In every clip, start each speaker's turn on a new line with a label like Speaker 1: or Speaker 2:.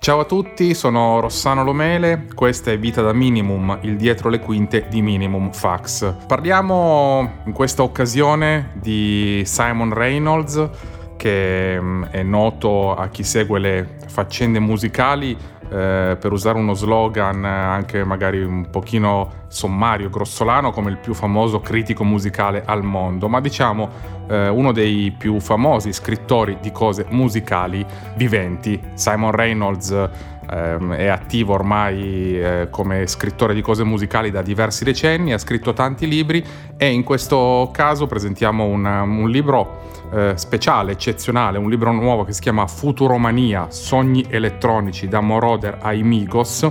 Speaker 1: Ciao a tutti, sono Rossano Lomele, questa è Vita da Minimum, il dietro le quinte di Minimum Fax. Parliamo in questa occasione di Simon Reynolds, che è noto a chi segue le faccende musicali per usare uno slogan anche magari un pochino sommario, grossolano, come il più famoso critico musicale al mondo, ma diciamo uno dei più famosi scrittori di cose musicali viventi. Simon Reynolds è attivo ormai come scrittore di cose musicali da diversi decenni, ha scritto tanti libri e in questo caso presentiamo un libro speciale, eccezionale, un libro nuovo che si chiama Futuromania, sogni elettronici da Moroder ai Migos,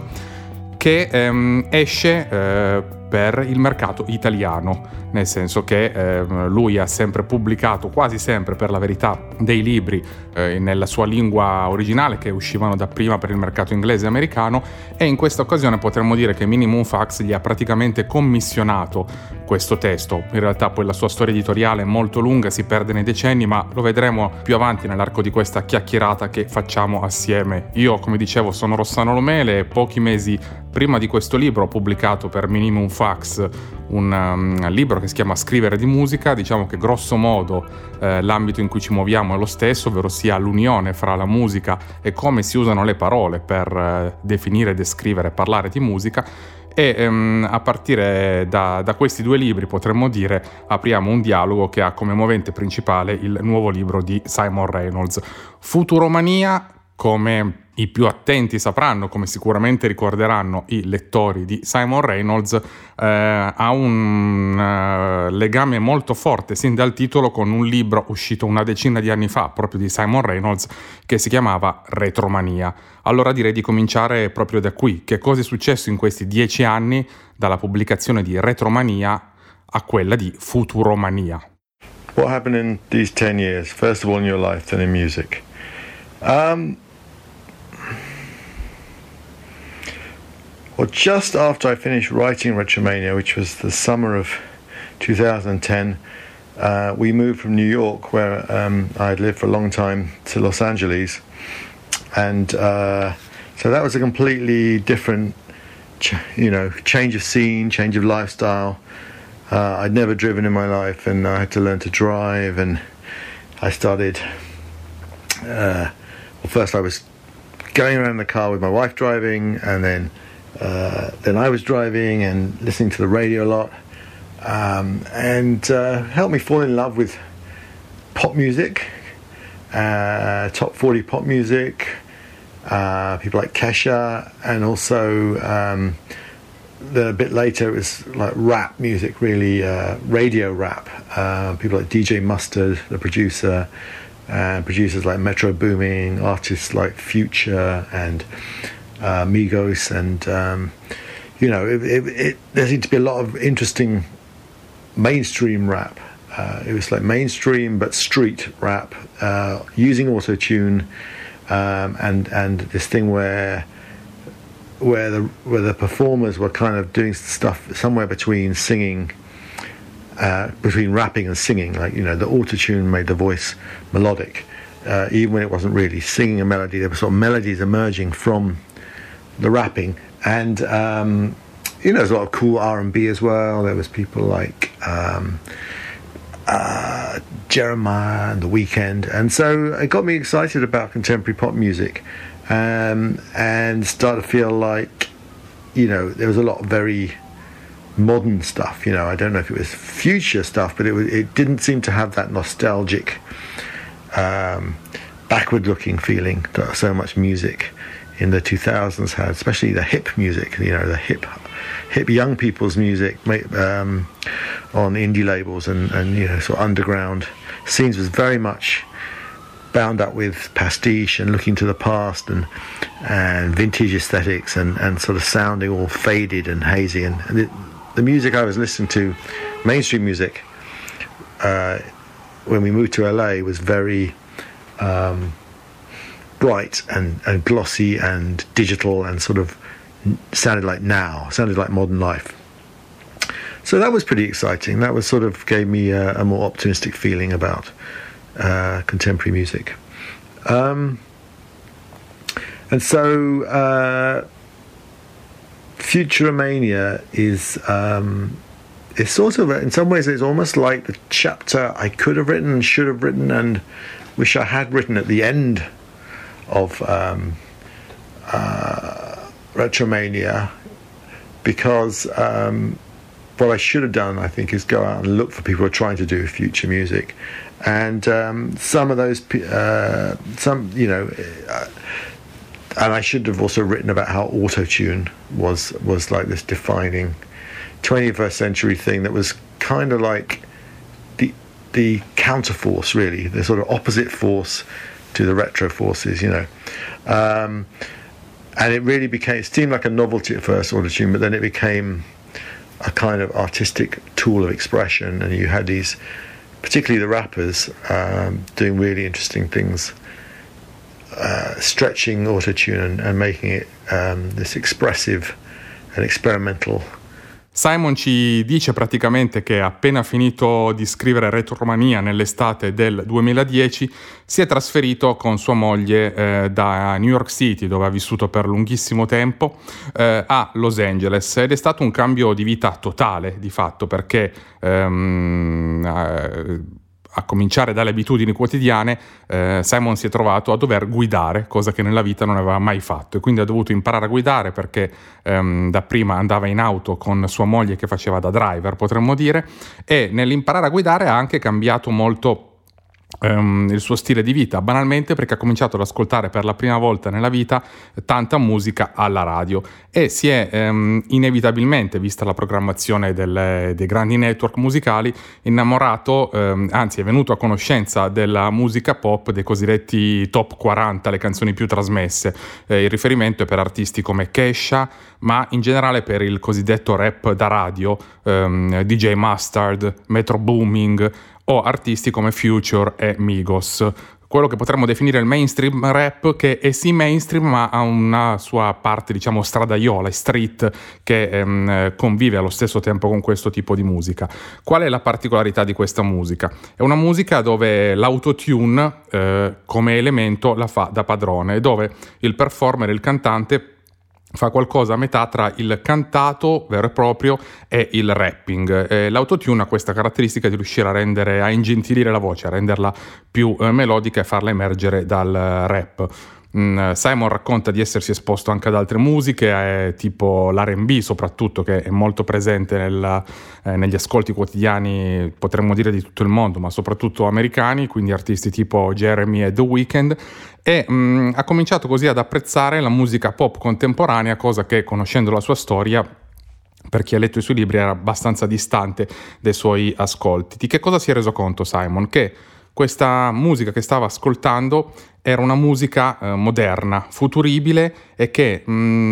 Speaker 1: che esce per il mercato italiano, nel senso che lui ha sempre pubblicato, quasi sempre per la verità, dei libri nella sua lingua originale che uscivano dapprima per il mercato inglese e americano, e in questa occasione potremmo dire che Minimum Fax gli ha praticamente commissionato questo testo. In realtà poi la sua storia editoriale è molto lunga, si perde nei decenni, ma lo vedremo più avanti nell'arco di questa chiacchierata che facciamo assieme. Io, come dicevo, sono Rossano Lomele e pochi mesi prima di questo libro ho pubblicato per Minimum Fax un libro che si chiama Scrivere di musica. Diciamo che grosso modo l'ambito in cui ci muoviamo è lo stesso, ovvero sia l'unione fra la musica e come si usano le parole per definire, descrivere e parlare di musica. E a partire da questi due libri, potremmo dire, apriamo un dialogo che ha come movente principale il nuovo libro di Simon Reynolds. Futuromania, come i più attenti sapranno, come sicuramente ricorderanno i lettori di Simon Reynolds, ha un legame molto forte sin dal titolo con un libro uscito una decina di anni fa, proprio di Simon Reynolds, che si chiamava Retromania. Allora direi di cominciare proprio da qui. Che cosa è successo in questi 10 anni dalla pubblicazione di Retromania a quella di Futuromania?
Speaker 2: What happened in these 10 years, first of all in your life, then in music? Well, just after I finished writing Retromania, which was the summer of 2010, we moved from New York, where I had lived for a long time, to Los Angeles. And so that was a completely different, change of scene, change of lifestyle. I'd never driven in my life, and I had to learn to drive. And I started, first I was going around in the car with my wife driving, and then I was driving and listening to the radio a lot, and helped me fall in love with pop music, top 40 pop music, people like Kesha, and also then a bit later it was like rap music, really, radio rap, people like DJ Mustard, the producer, and producers like Metro Boomin, artists like Future and Migos, and there seemed to be a lot of interesting mainstream rap. It was like mainstream but street rap, using auto-tune, and this thing where the performers were kind of doing stuff somewhere between singing, between rapping and singing. Like, the auto-tune made the voice melodic, even when it wasn't really singing a melody. There were sort of melodies emerging from the rapping, and there's a lot of cool R&B as well. There was people like Jeremiah and The Weeknd, and so it got me excited about contemporary pop music, and started to feel like there was a lot of very modern stuff. I don't know if it was future stuff, but it didn't seem to have that nostalgic, backward-looking feeling that so much music in the 2000s had, especially the hip music, the hip young people's music on indie labels and sort of underground scenes was very much bound up with pastiche and looking to the past and vintage aesthetics and sort of sounding all faded and hazy. And the music I was listening to, mainstream music, when we moved to LA, was very bright and glossy and digital and sort of sounded like modern life. So that was pretty exciting. That was sort of gave me a more optimistic feeling about contemporary music. And so Futuromania is it's sort of, in some ways, it's almost like the chapter I could have written, should have written, and wish I had written at the end of Retromania, because what I should have done, I think, is go out and look for people who are trying to do future music, and some of those, and I should have also written about how auto-tune was like this defining 21st century thing that was kind of like the counterforce, really, the sort of opposite force to the retro forces, and it really it seemed like a novelty at first, auto-tune, but then it became a kind of artistic tool of expression, and you had these, particularly the rappers, doing really interesting things, stretching auto-tune and making it this expressive and experimental.
Speaker 1: Simon ci dice praticamente che appena finito di scrivere Retromania nell'estate del 2010 si è trasferito con sua moglie da New York City, dove ha vissuto per lunghissimo tempo, a Los Angeles, ed è stato un cambio di vita totale di fatto, perché a cominciare dalle abitudini quotidiane, Simon si è trovato a dover guidare, cosa che nella vita non aveva mai fatto, e quindi ha dovuto imparare a guidare, perché dapprima andava in auto con sua moglie che faceva da driver, potremmo dire, e nell'imparare a guidare ha anche cambiato molto il suo stile di vita, banalmente perché ha cominciato ad ascoltare per la prima volta nella vita tanta musica alla radio, e si è inevitabilmente, vista la programmazione dei grandi network musicali, innamorato, anzi è venuto a conoscenza della musica pop, dei cosiddetti top 40, le canzoni più trasmesse. Il riferimento è per artisti come Kesha, ma in generale per il cosiddetto rap da radio, DJ Mustard, Metro Booming, o artisti come Future e Migos, quello che potremmo definire il mainstream rap, che è sì mainstream ma ha una sua parte, diciamo, stradaiola e street, che convive allo stesso tempo con questo tipo di musica. Qual è la particolarità di questa musica? È una musica dove l'autotune come elemento la fa da padrone, dove il performer, il cantante, fa qualcosa a metà tra il cantato vero e proprio e il rapping. L'autotune ha questa caratteristica di riuscire a ingentilire la voce, a renderla più melodica e farla emergere dal rap. Simon racconta di essersi esposto anche ad altre musiche, tipo l'R&B soprattutto, che è molto presente negli ascolti quotidiani, potremmo dire di tutto il mondo, ma soprattutto americani, quindi artisti tipo Jeremy e The Weeknd, e ha cominciato così ad apprezzare la musica pop contemporanea, cosa che, conoscendo la sua storia, per chi ha letto i suoi libri, era abbastanza distante dai suoi ascolti. Di che cosa si è reso conto Simon? Che questa musica che stava ascoltando era una musica moderna, futuribile, e che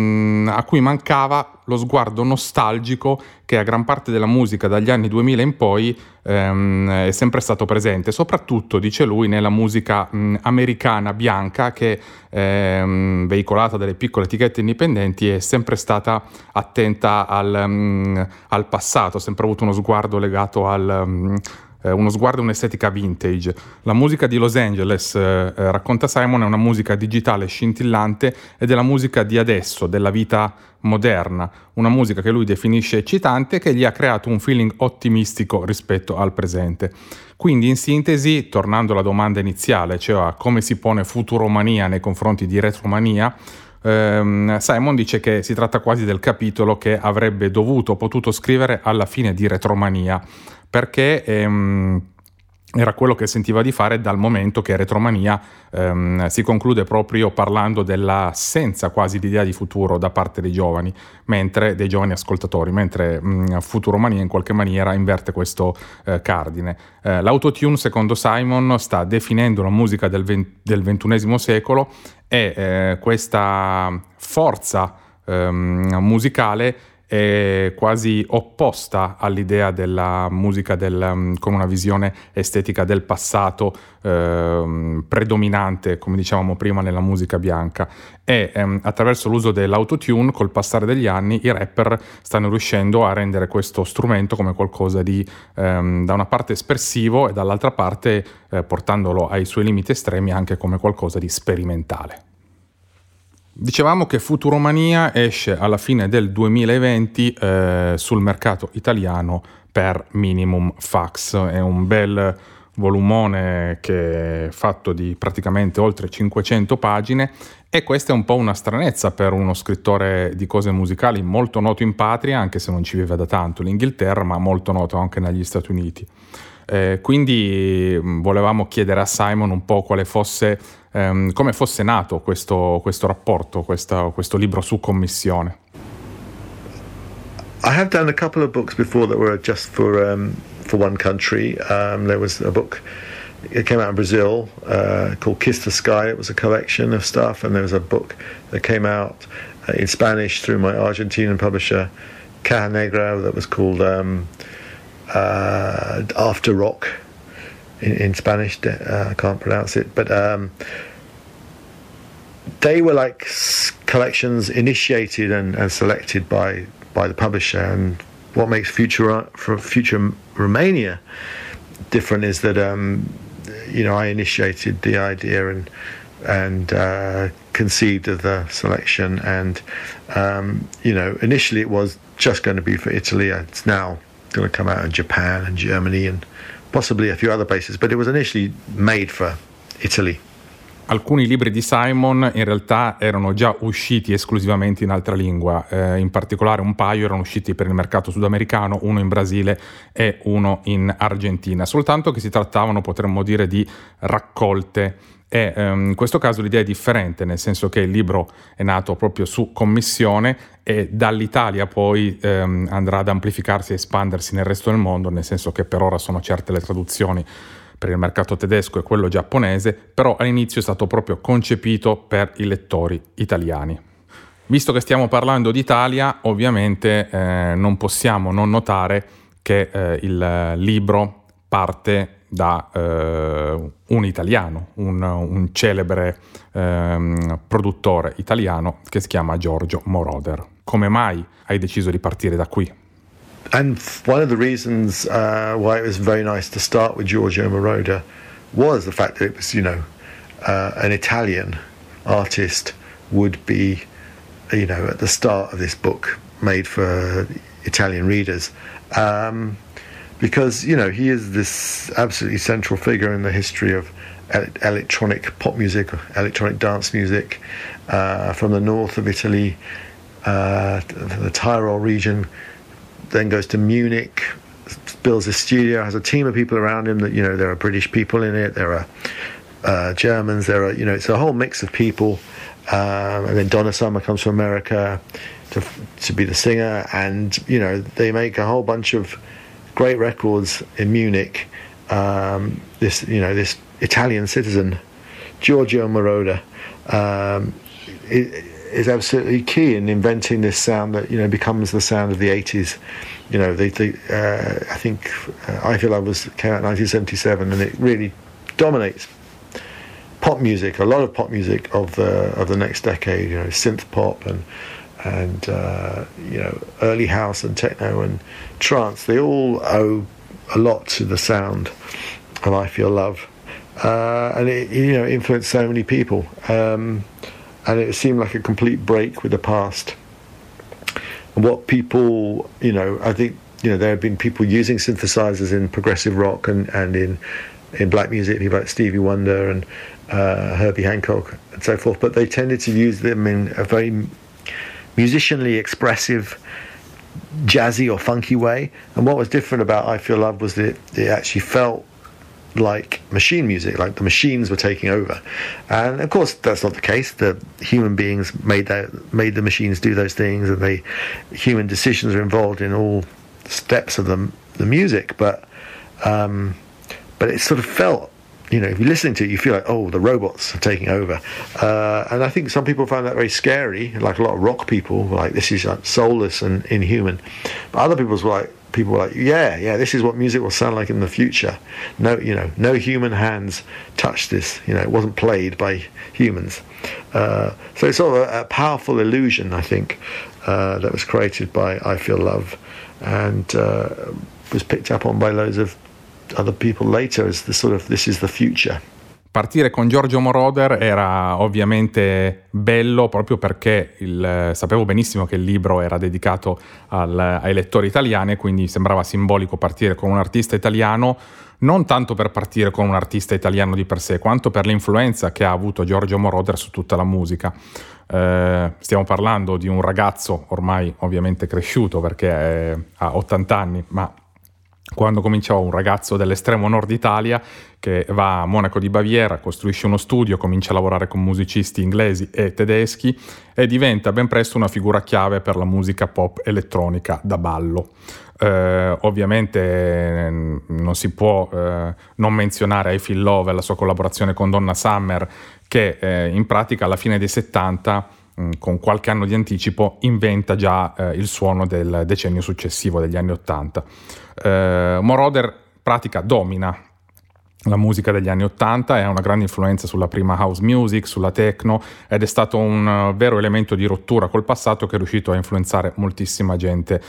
Speaker 1: a cui mancava lo sguardo nostalgico che a gran parte della musica dagli anni 2000 in poi è sempre stato presente, soprattutto, dice lui, nella musica americana bianca, che veicolata dalle piccole etichette indipendenti, è sempre stata attenta al passato, ha sempre avuto uno sguardo legato uno sguardo e un'estetica vintage. La musica di Los Angeles, racconta Simon, è una musica digitale scintillante ed è la musica di adesso, della vita moderna, una musica che lui definisce eccitante, che gli ha creato un feeling ottimistico rispetto al presente. Quindi, in sintesi, tornando alla domanda iniziale, cioè a come si pone Futuromania nei confronti di Retromania, Simon dice che si tratta quasi del capitolo che avrebbe potuto scrivere alla fine di Retromania, perché era quello che sentiva di fare, dal momento che Retromania si conclude proprio parlando dell'assenza quasi di idea di futuro da parte dei giovani ascoltatori, mentre Futuromania in qualche maniera inverte questo cardine. L'autotune, secondo Simon, sta definendo la musica del XXI secolo, e questa forza musicale è quasi opposta all'idea della musica con una visione estetica del passato predominante, come dicevamo prima, nella musica bianca. E attraverso l'uso dell'autotune, col passare degli anni, i rapper stanno riuscendo a rendere questo strumento come qualcosa di da una parte espressivo e dall'altra parte, portandolo ai suoi limiti estremi, anche come qualcosa di sperimentale. Dicevamo che Futuromania esce alla fine del 2020 sul mercato italiano per Minimum Fax. È un bel volumone che è fatto di praticamente oltre 500 pagine e questa è un po' una stranezza per uno scrittore di cose musicali molto noto in patria, anche se non ci vive da tanto, l'Inghilterra, ma molto noto anche negli Stati Uniti. Quindi volevamo chiedere a Simon un po' quale fosse, come fosse nato questo rapporto, questo libro su commissione.
Speaker 2: I have done a couple of books before that were just for one country. There was a book, it came out in Brazil, called Kiss the Sky. It was a collection of stuff, and there was a book that came out in Spanish through my Argentinian publisher, Caja Negra, that was called After Rock in Spanish. I can't pronounce it, but they were like collections initiated and selected by the publisher. And what makes Future Romania different is that I initiated the idea and conceived of the selection, and initially it was just going to be for Italy. It's now going to come out in Japan and Germany and possibly a few other places, but it was initially made for Italy.
Speaker 1: Alcuni libri di Simon in realtà erano già usciti esclusivamente in altra lingua, in particolare un paio erano usciti per il mercato sudamericano, uno in Brasile e uno in Argentina, soltanto che si trattavano, potremmo dire, di raccolte. E in questo caso l'idea è differente, nel senso che il libro è nato proprio su commissione e dall'Italia poi andrà ad amplificarsi e espandersi nel resto del mondo, nel senso che per ora sono certe le traduzioni per il mercato tedesco e quello giapponese, però all'inizio è stato proprio concepito per i lettori italiani. Visto che stiamo parlando d'Italia, ovviamente non possiamo non notare che il libro parte da un italiano, un celebre produttore italiano che si chiama Giorgio Moroder. Come mai hai deciso di partire da qui?
Speaker 2: And one of the reasons why it was very nice to start with Giorgio Moroder was the fact that it was, an Italian artist would be, at the start of this book made for Italian readers. Because, he is this absolutely central figure in the history of electronic pop music, electronic dance music from the north of Italy, the Tyrol region, then goes to Munich, builds a studio, has a team of people around him that, there are British people in it, there are Germans, there are, it's a whole mix of people. And then Donna Summer comes from America to be the singer, and, they make a whole bunch of great records in Munich. This Italian citizen, Giorgio Moroder, is absolutely key in inventing this sound that becomes the sound of the 80s. I think I Feel Love came out in 1977, and it really dominates pop music, a lot of pop music of the next decade. Synth pop and early house and techno and trance. They all owe a lot to the sound of I Feel Love, and it influenced so many people. And it seemed like a complete break with the past. And what people, I think, there have been people using synthesizers in progressive rock and in black music, people like Stevie Wonder and Herbie Hancock and so forth, but they tended to use them in a very musicianly expressive, jazzy or funky way. And what was different about I Feel Love was that it actually felt like machine music, like the machines were taking over. And of course that's not the case. The human beings made the machines do those things, and human decisions are involved in all steps of the music, but it sort of felt, if you're listening to it, you feel like, oh, the robots are taking over. And I think some people find that very scary, like a lot of rock people were like, this is like soulless and inhuman. But other people were like, yeah, this is what music will sound like in the future. No human hands touched this. It wasn't played by humans. So it's sort of a powerful illusion, I think, that was created by I Feel Love, and was picked up on by loads of other people later as this is the future.
Speaker 1: Partire con Giorgio Moroder era ovviamente bello proprio perché sapevo benissimo che il libro era dedicato ai lettori italiani, quindi sembrava simbolico partire con un artista italiano, non tanto per partire con un artista italiano di per sé, quanto per l'influenza che ha avuto Giorgio Moroder su tutta la musica. Stiamo parlando di un ragazzo ormai ovviamente cresciuto perché ha 80 anni, ma quando cominciò un ragazzo dell'estremo nord Italia che va a Monaco di Baviera, costruisce uno studio, comincia a lavorare con musicisti inglesi e tedeschi e diventa ben presto una figura chiave per la musica pop elettronica da ballo. Ovviamente non si può non menzionare I Feel Love e la sua collaborazione con Donna Summer, che in pratica alla fine dei 70, con qualche anno di anticipo, inventa già il suono del decennio successivo, degli anni 80. Moroder pratica domina la musica degli anni 80, è una grande influenza sulla prima house music, sulla techno, ed è stato un vero elemento di rottura col passato che è riuscito a influenzare moltissima gente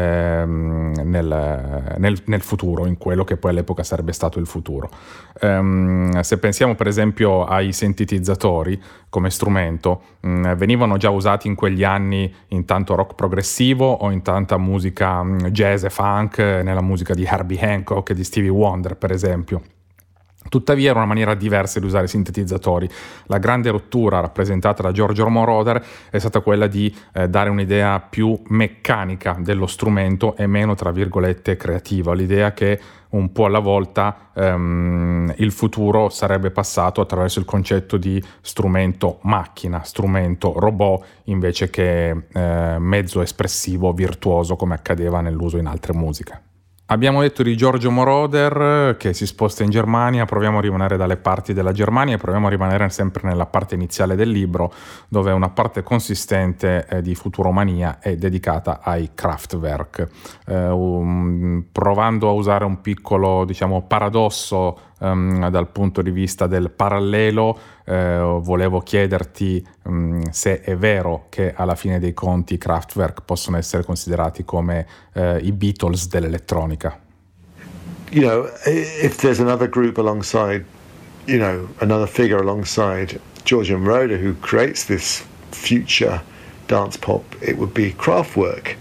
Speaker 1: nel futuro, in quello che poi all'epoca sarebbe stato il futuro. Se pensiamo per esempio ai sintetizzatori come strumento, venivano già usati in quegli anni in tanto rock progressivo o in tanta musica jazz e funk, nella musica di Herbie Hancock e di Stevie Wonder per esempio. Tuttavia era una maniera diversa di usare i sintetizzatori. La grande rottura rappresentata da Giorgio Moroder è stata quella di dare un'idea più meccanica dello strumento e meno, tra virgolette, creativa. L'idea che un po' alla volta il futuro sarebbe passato attraverso il concetto di strumento macchina, strumento robot, invece che mezzo espressivo, virtuoso, come accadeva nell'uso in altre musiche. Abbiamo detto di Giorgio Moroder che si sposta in Germania, proviamo a rimanere dalle parti della Germania e proviamo a rimanere sempre nella parte iniziale del libro, dove una parte consistente di Futuromania è dedicata ai Kraftwerk, provando a usare un piccolo, paradosso dal punto di vista del parallelo. Volevo chiederti se è vero che alla fine dei conti i Kraftwerk possono essere considerati come i Beatles dell'elettronica.
Speaker 2: You know, if there's another group alongside, you know, another figure alongside Giorgio Moroder who creates this future dance pop, it would be Kraftwerk.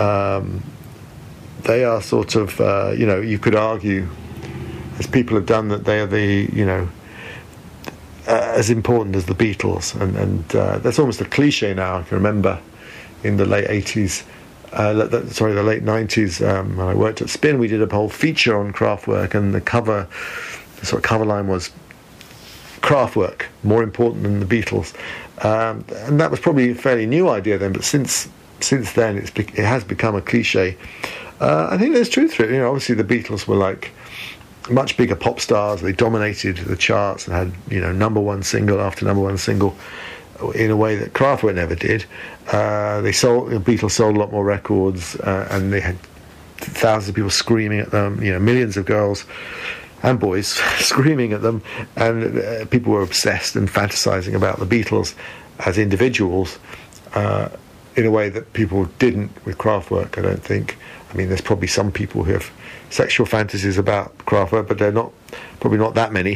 Speaker 2: They are sort of, you know, you could argue, as people have done, that they are the, you know, as important as the Beatles, and that's almost a cliche now. I can remember in the late 80s, the late 90s, when I worked at Spin, we did a whole feature on Kraftwerk, and the sort of cover line was Kraftwerk, more important than the Beatles, and that was probably a fairly new idea then, but since then it has become a cliche. I think there's truth to it. You know, obviously the Beatles were like much bigger pop stars. They dominated the charts and had, you know, number one single after number one single in a way that Kraftwerk never did. The Beatles sold a lot more records, and they had thousands of people screaming at them, you know, millions of girls and boys screaming at them, and people were obsessed and fantasizing about the Beatles as individuals in a way that people didn't with Kraftwerk, I don't think. I mean, there's probably some people who have sexual fantasies about Kraftwerk, but they're probably not that many.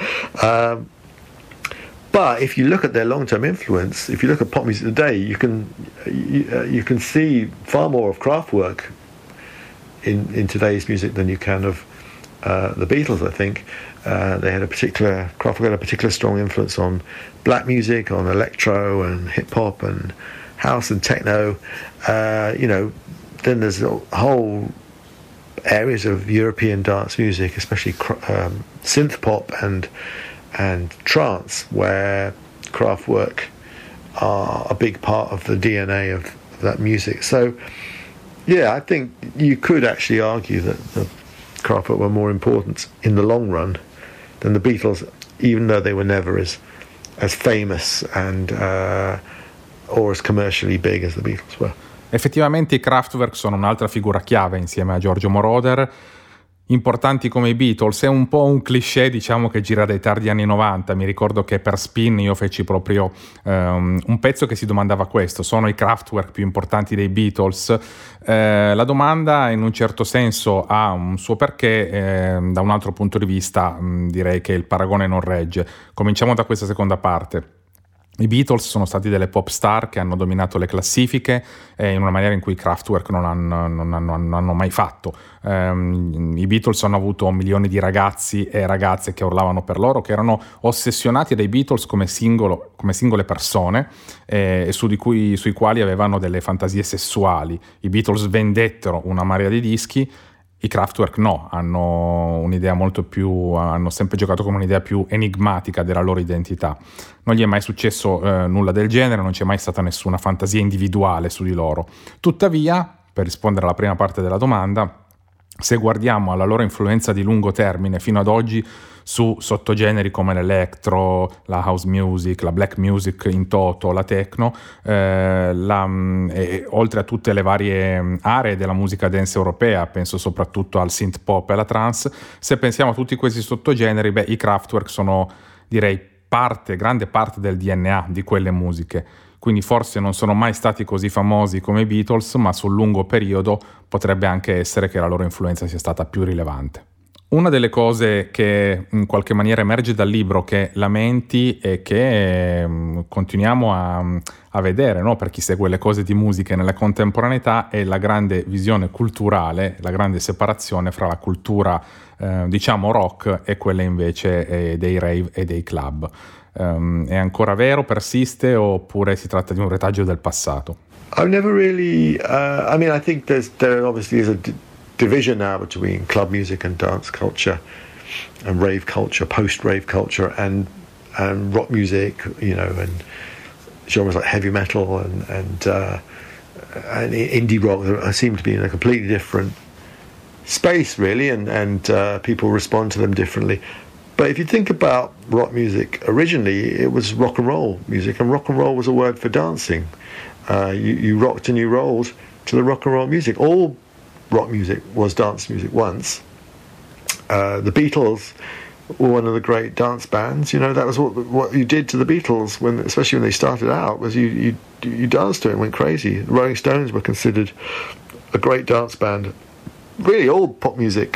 Speaker 2: But if you look at their long-term influence, if you look at pop music today, you can see far more of Kraftwerk in today's music than you can of the Beatles. I think Kraftwerk had a particular strong influence on black music, on electro and hip hop and house and techno. You know, then there's whole areas of European dance music, especially synth pop and trance, where Kraftwerk are a big part of the DNA of that music. So, yeah, I think you could actually argue that the Kraftwerk were more important in the long run than the Beatles, even though they were never as famous and or as commercially big as the Beatles were.
Speaker 1: Effettivamente i Kraftwerk sono un'altra figura chiave insieme a Giorgio Moroder. importanti come i Beatles. È un po' un cliché, diciamo, che gira dai tardi anni 90. Mi ricordo che per Spin io feci proprio un pezzo che si domandava questo: sono i Kraftwerk più importanti dei Beatles? La domanda in un certo senso ha un suo perché, da un altro punto di vista direi che il paragone non regge. Cominciamo da questa seconda parte. I Beatles sono stati delle pop star che hanno dominato le classifiche in una maniera in cui i Kraftwerk non hanno mai fatto. I Beatles hanno avuto milioni di ragazzi e ragazze che urlavano per loro, che erano ossessionati dai Beatles come singole persone sui quali avevano delle fantasie sessuali. I Beatles vendettero una marea di dischi. I Kraftwerk no, hanno sempre giocato con un'idea più enigmatica della loro identità. Non gli è mai successo nulla del genere, non c'è mai stata nessuna fantasia individuale su di loro. Tuttavia, per rispondere alla prima parte della domanda, se guardiamo alla loro influenza di lungo termine fino ad oggi su sottogeneri come l'electro, la house music, la black music in toto, la techno, oltre a tutte le varie aree della musica dance europea, penso soprattutto al synth pop e alla trance, se pensiamo a tutti questi sottogeneri, i Kraftwerk sono, direi, grande parte del DNA di quelle musiche. Quindi forse non sono mai stati così famosi come i Beatles, ma sul lungo periodo potrebbe anche essere che la loro influenza sia stata più rilevante. Una delle cose che in qualche maniera emerge dal libro che lamenti e che continuiamo a vedere, no? Per chi segue le cose di musica nella contemporaneità, è la grande visione culturale, la grande separazione fra la cultura diciamo rock e quella invece dei rave e dei club. È ancora vero, persiste, oppure si tratta di un retaggio del passato?
Speaker 2: I've never really I think there obviously is a division now between club music and dance culture and rave culture, post-rave culture, and rock music, and genres like heavy metal and indie rock seem to be in a completely different space, really, and people respond to them differently. But if you think about rock music, originally it was rock and roll music, and rock and roll was a word for dancing. You rocked and you rolled to the rock and roll music. All rock music was dance music once. The Beatles were one of the great dance bands. That was what you did to the Beatles, especially when they started out, was you danced to it and went crazy. The Rolling Stones were considered a great dance band. Really, all pop music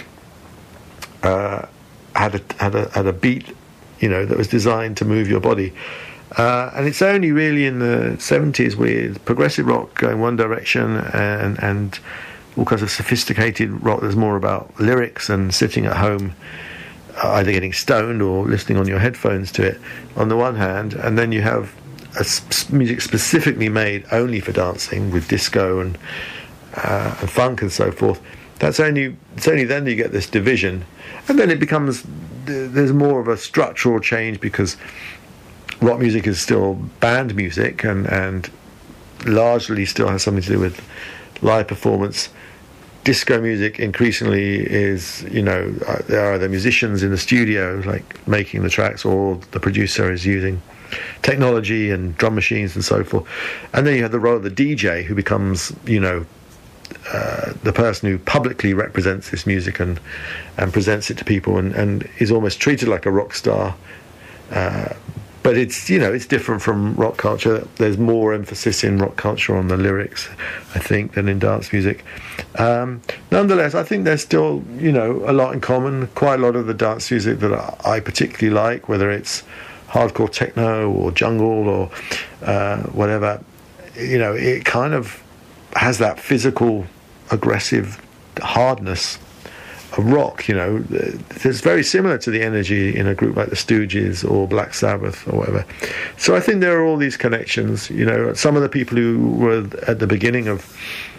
Speaker 2: had a beat, that was designed to move your body. And it's only really in the 70s with progressive rock going one direction and all kinds of sophisticated rock that's more about lyrics and sitting at home either getting stoned or listening on your headphones to it on the one hand, and then you have music specifically made only for dancing with disco and funk and so forth. It's only then that you get this division, and then there's more of a structural change because rock music is still band music and largely still has something to do with live performance. Disco music increasingly is, there are the musicians in the studio like making the tracks, or the producer is using technology and drum machines and so forth. And then you have the role of the DJ, who becomes, the person who publicly represents this music and presents it to people and is almost treated like a rock star. But it's different from rock culture. There's more emphasis in rock culture on the lyrics, I think, than in dance music. Nonetheless, I think there's still, a lot in common. Quite a lot of the dance music that I particularly like, whether it's hardcore techno or jungle or whatever, it kind of has that physical, aggressive hardness of rock. It's very similar to the energy in a group like the Stooges or Black Sabbath or whatever. So I think there are all these connections. Some of the people who were at the beginning of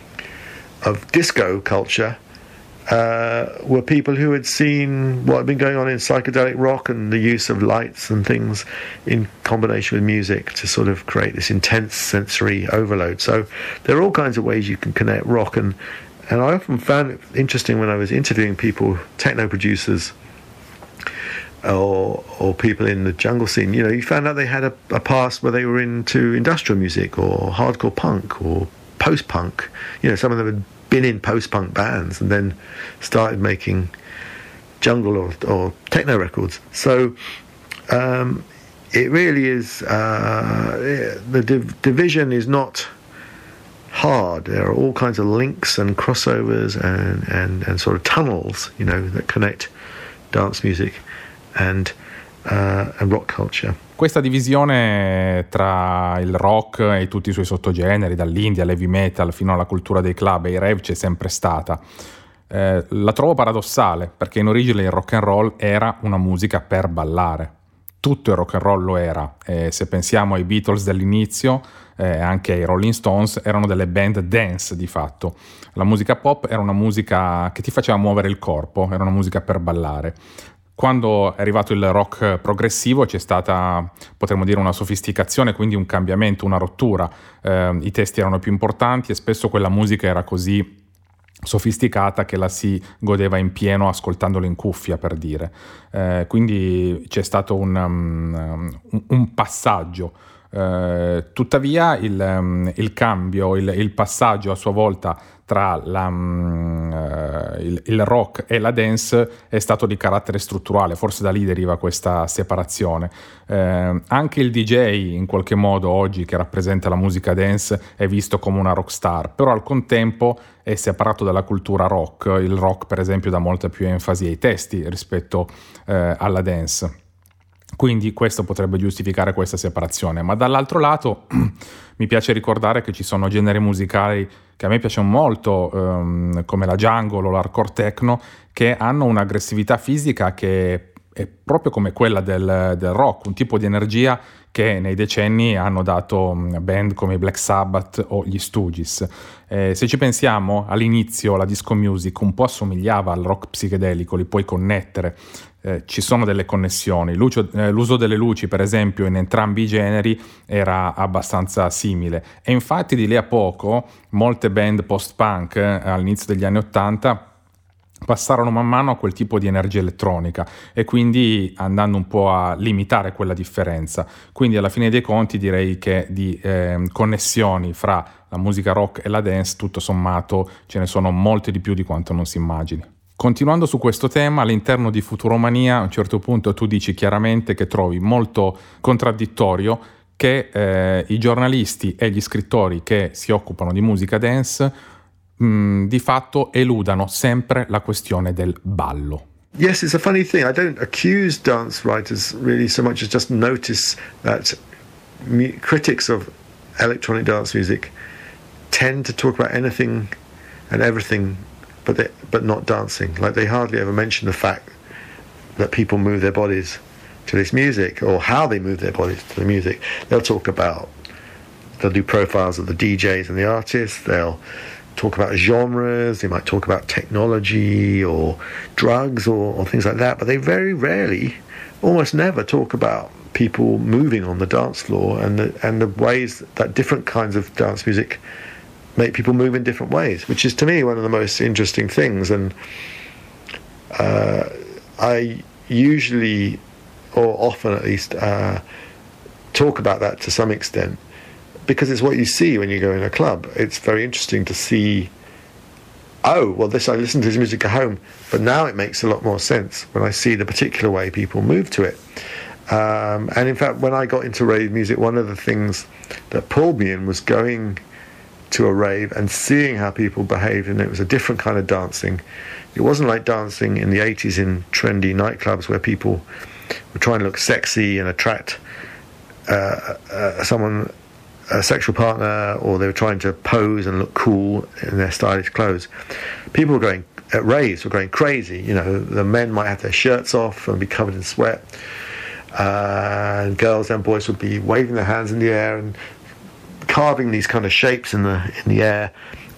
Speaker 2: disco culture were people who had seen what had been going on in psychedelic rock and the use of lights and things in combination with music to sort of create this intense sensory overload. So there are all kinds of ways you can connect rock, and I often found it interesting when I was interviewing people, techno producers or people in the jungle scene, you found out they had a past where they were into industrial music or hardcore punk or post-punk. Some of them had been in post-punk bands and then started making jungle or techno records. So it really is, the division is not hard. There are all kinds of links and crossovers and sort of tunnels, that connect dance music and rock culture.
Speaker 1: Questa divisione tra il rock e tutti i suoi sottogeneri, dall'indie all'heavy metal fino alla cultura dei club e i rave, c'è sempre stata. La trovo paradossale, perché in origine il rock and roll era una musica per ballare. Tutto il rock and roll lo era. Se pensiamo ai Beatles dell'inizio, anche ai Rolling Stones, erano delle band dance di fatto. La musica pop era una musica che ti faceva muovere il corpo, era una musica per ballare. Quando è arrivato il rock progressivo c'è stata, potremmo dire, una sofisticazione, quindi un cambiamento, una rottura. I testi erano più importanti e spesso quella musica era così sofisticata che la si godeva in pieno ascoltandolo in cuffia, per dire. Quindi c'è stato un passaggio. Tuttavia il cambio, il passaggio a sua volta tra il rock e la dance è stato di carattere strutturale, forse da lì deriva questa separazione. Anche il DJ in qualche modo oggi, che rappresenta la musica dance, è visto come una rockstar, però al contempo è separato dalla cultura rock. Il rock, per esempio, dà molta più enfasi ai testi rispetto alla dance. Quindi questo potrebbe giustificare questa separazione, ma dall'altro lato mi piace ricordare che ci sono generi musicali che a me piacciono molto, come la jungle o l'hardcore techno, che hanno un'aggressività fisica che è proprio come quella del rock, un tipo di energia che nei decenni hanno dato band come i Black Sabbath o gli Stooges. Se ci pensiamo, all'inizio la disco music un po' assomigliava al rock psichedelico, li puoi connettere. Ci sono delle connessioni. L'uso delle luci, per esempio, in entrambi i generi era abbastanza simile, e infatti di lì a poco molte band post-punk all'inizio degli anni '80 passarono man mano a quel tipo di energia elettronica, e quindi andando un po' a limitare quella differenza. Quindi alla fine dei conti direi che di connessioni fra la musica rock e la dance tutto sommato ce ne sono molte di più di quanto non si immagini. Continuando su questo tema, all'interno di Futuromania a un certo punto tu dici chiaramente che trovi molto contraddittorio che i giornalisti e gli scrittori che si occupano di musica dance di fatto eludano sempre la questione del ballo.
Speaker 2: Yes, it's a funny thing. I don't accuse dance writers really so much as just notice that critics of electronic dance music tend to talk about anything and everything but not dancing. Like, they hardly ever mention the fact that people move their bodies to this music, or how they move their bodies to the music. They'll do profiles of the DJs and the artists. They'll talk about genres. They might talk about technology or drugs or things like that. But they very rarely, almost never, talk about people moving on the dance floor and the ways that different kinds of dance music make people move in different ways, which is to me one of the most interesting things. And I usually, or often at least, talk about that to some extent, because it's what you see when you go in a club. It's very interesting to see, oh, well, I listen to this music at home, but now it makes a lot more sense when I see the particular way people move to it. And in fact, when I got into rave music, one of the things that pulled me in was going to a rave and seeing how people behaved, and it was a different kind of dancing. It wasn't like dancing in the 80s in trendy nightclubs where people were trying to look sexy and attract someone, a sexual partner, or they were trying to pose and look cool in their stylish clothes. People were going, at raves, were going crazy. The men might have their shirts off and be covered in sweat, and girls and boys would be waving their hands in the air and carving these kind of shapes in the air,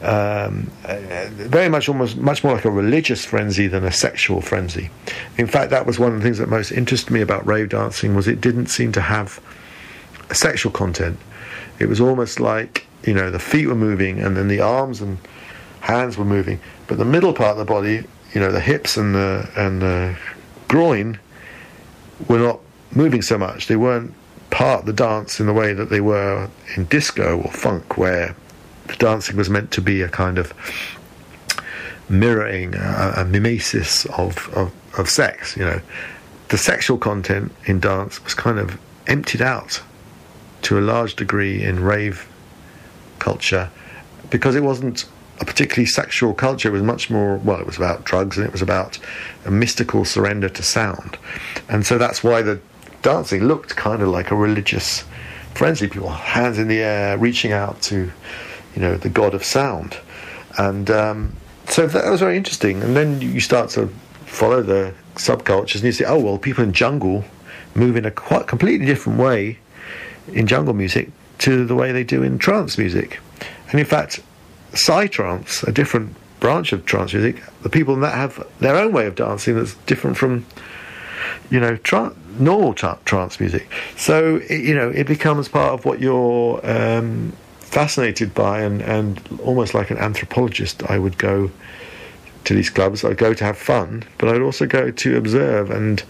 Speaker 2: very much, almost much more like a religious frenzy than a sexual frenzy. In fact, that was one of the things that most interested me about rave dancing, was it didn't seem to have a sexual content. It was almost like, the feet were moving and then the arms and hands were moving, but the middle part of the body, the hips and the groin, were not moving so much. They weren't part of the dance in the way that they were in disco or funk, where the dancing was meant to be a kind of mirroring a mimesis of sex. You know, the sexual content in dance was kind of emptied out to a large degree in rave culture, because it wasn't a particularly sexual culture. It was much more, well, it was about drugs, and it was about a mystical surrender to sound. And so that's why the dancing looked kind of like a religious frenzy, people hands in the air reaching out to, you know, the god of sound. And so that was very interesting. And then you start to follow the subcultures, and you see, oh well, people in jungle move in a quite completely different way in jungle music to the way they do in trance music. And in fact, psytrance, a different branch of trance music, the people in that have their own way of dancing that's different from, you know, normal trance music. So it becomes part of what you're fascinated by, and almost like an anthropologist, I would go to these clubs. I'd go to have fun, but I'd also go to observe and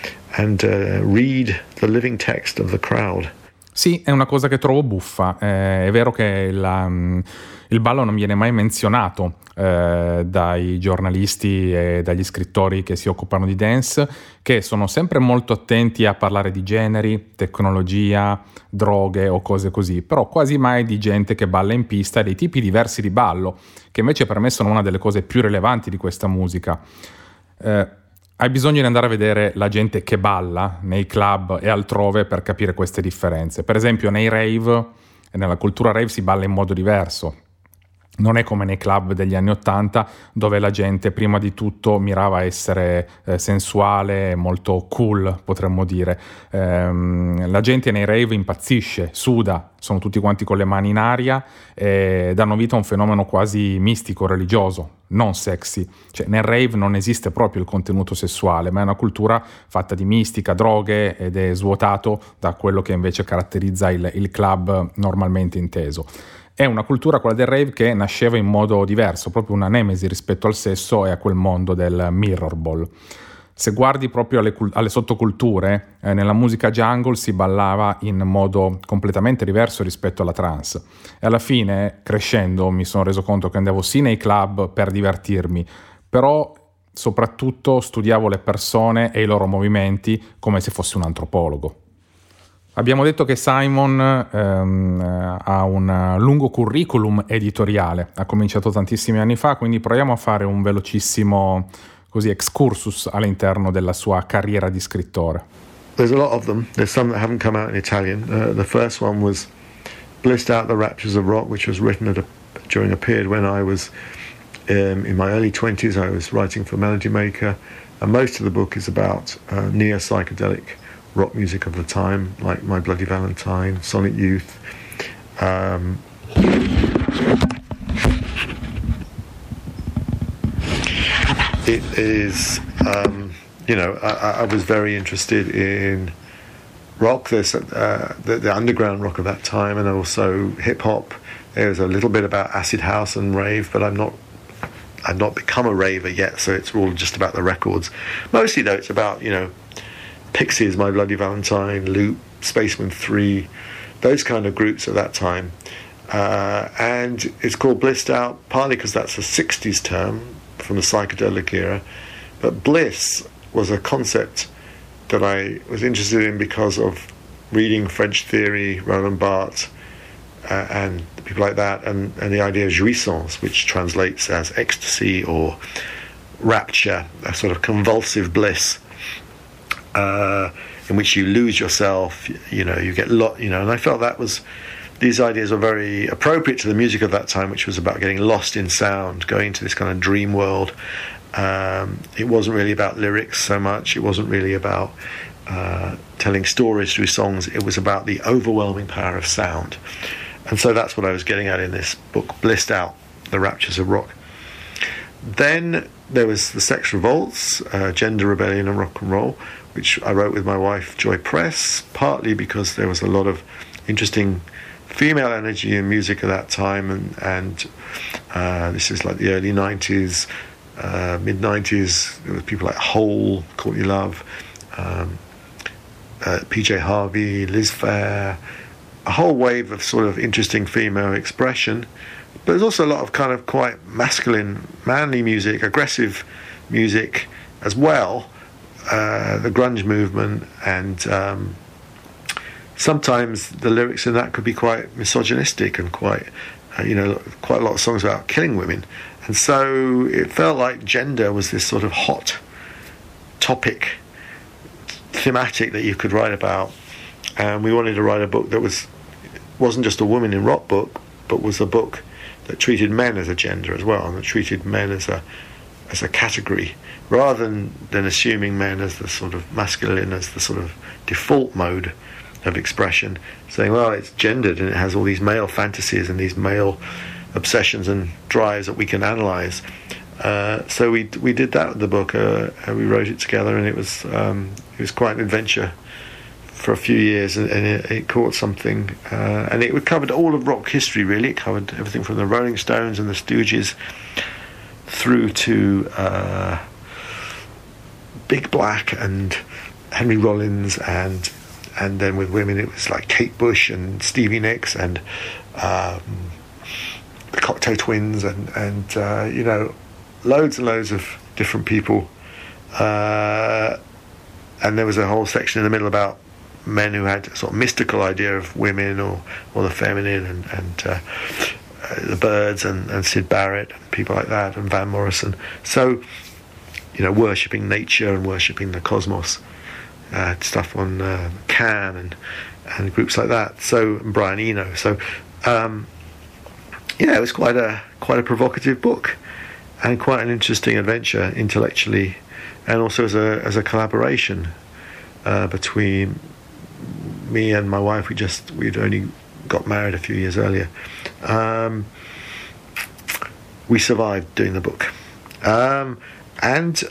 Speaker 2: read the living text of the crowd.
Speaker 1: Sì, è una cosa che trovo buffa. È vero che il ballo non viene mai menzionato dai giornalisti e dagli scrittori che si occupano di dance, che sono sempre molto attenti a parlare di generi, tecnologia, droghe o cose così, però quasi mai di gente che balla in pista e dei tipi diversi di ballo, che invece per me sono una delle cose più rilevanti di questa musica. Hai bisogno di andare a vedere la gente che balla nei club e altrove per capire queste differenze. Per esempio nei rave, nella cultura rave si balla in modo diverso. Non è come nei club degli anni '80, dove la gente prima di tutto mirava a essere sensuale, molto cool, potremmo dire. La gente nei rave impazzisce, suda, sono tutti quanti con le mani in aria e danno vita a un fenomeno quasi mistico, religioso, non sexy. Cioè, nel rave non esiste proprio il contenuto sessuale, ma è una cultura fatta di mistica, droghe, ed è svuotato da quello che invece caratterizza il club normalmente inteso. È una cultura, quella del rave, che nasceva in modo diverso, proprio una nemesi rispetto al sesso e a quel mondo del mirror ball. Se guardi proprio alle sottoculture, nella musica jungle si ballava in modo completamente diverso rispetto alla trance. E alla fine, crescendo, mi sono reso conto che andavo sì nei club per divertirmi, però soprattutto studiavo le persone e i loro movimenti come se fossi un antropologo. Abbiamo detto che Simon ha un lungo curriculum editoriale, ha cominciato tantissimi anni fa, quindi proviamo a fare un velocissimo excursus all'interno della sua carriera di scrittore.
Speaker 2: There's a lot of them. There's some that haven't come out in Italian. The first one was Blissed Out, The Raptures of Rock, which was written during a period when I was in my early 20s. I was writing for Melody Maker, and most of the book is about neo-psychedelic rock music of the time, like My Bloody Valentine, Sonic Youth. It is, I was very interested in rock. There's the underground rock of that time, and also hip hop. There's a little bit about acid house and rave, but I've not become a raver yet, so it's all just about the records. Mostly though, it's about, Pixies, My Bloody Valentine, Loop, Spaceman 3, those kind of groups at that time. And it's called Blissed Out, partly because that's a 60s term from the psychedelic era. But bliss was a concept that I was interested in because of reading French theory, Roland Barthes, and people like that, and the idea of jouissance, which translates as ecstasy or rapture, a sort of convulsive bliss. In which you lose yourself, you get and I felt these ideas were very appropriate to the music of that time, which was about getting lost in sound, going to this kind of dream world. It wasn't really about lyrics so much. It wasn't really about telling stories through songs. It was about the overwhelming power of sound. And so that's what I was getting at in this book, Blissed Out, The Raptures of Rock. Then there was The Sex Revolts, Gender Rebellion and Rock and Roll, which I wrote with my wife, Joy Press, partly because there was a lot of interesting female energy in music at that time, and this is like the early 90s, mid-90s. There were people like Hole, Courtney Love, PJ Harvey, Liz Phair, a whole wave of sort of interesting female expression, But there's also a lot of kind of quite masculine, manly music, aggressive music as well. The grunge movement, and sometimes the lyrics in that could be quite misogynistic and quite a lot of songs about killing women. And so it felt like gender was this sort of hot topic, thematic that you could write about. And we wanted to write a book that wasn't just a woman in rock book, but was a book that treated men as a gender as well, and that treated men as a category, rather than assuming men as the sort of masculine, as the sort of default mode of expression, saying, well, it's gendered and it has all these male fantasies and these male obsessions and drives that we can analyse. So we did that with the book. We wrote it together, and it was quite an adventure for a few years, and it caught something. And it covered all of rock history, really. It covered everything from the Rolling Stones and the Stooges through to Big Black and Henry Rollins, and then with women it was like Kate Bush and Stevie Nicks and the Cocteau Twins and loads and loads of different people. And there was a whole section in the middle about men who had a sort of mystical idea of women or the feminine, and the Byrds and Syd Barrett and people like that, and Van Morrison. So, worshipping nature and worshipping the cosmos. Stuff on Can and groups like that. So, and Brian Eno. So, it was quite a provocative book, and quite an interesting adventure intellectually, and also as a collaboration between me and my wife. We'd only got married a few years earlier. We survived doing the book, and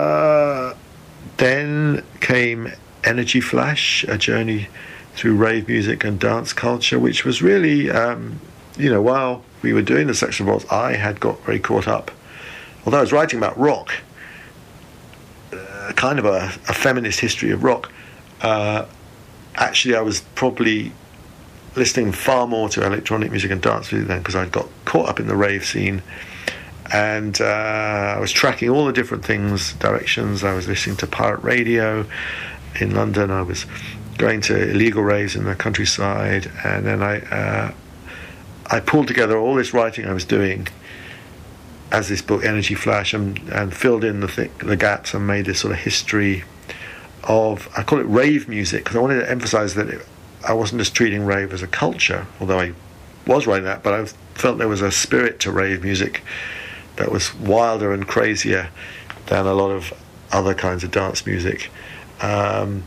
Speaker 2: then came Energy Flash, a journey through rave music and dance culture, which was really, while we were doing the Sex Revolts, I had got very caught up. Although I was writing about rock, kind of a feminist history of rock, actually I was probably listening far more to electronic music and dance music then, because I'd got caught up in the rave scene. And I was tracking all the different directions. I was listening to pirate radio in London. I was going to illegal raves in the countryside. And then I pulled together all this writing I was doing as this book, Energy Flash, and filled in the gaps and made this sort of history of, I call it rave music, because I wanted to emphasise that I wasn't just treating rave as a culture, although I was writing that, but I felt there was a spirit to rave music that was wilder and crazier than a lot of other kinds of dance music. So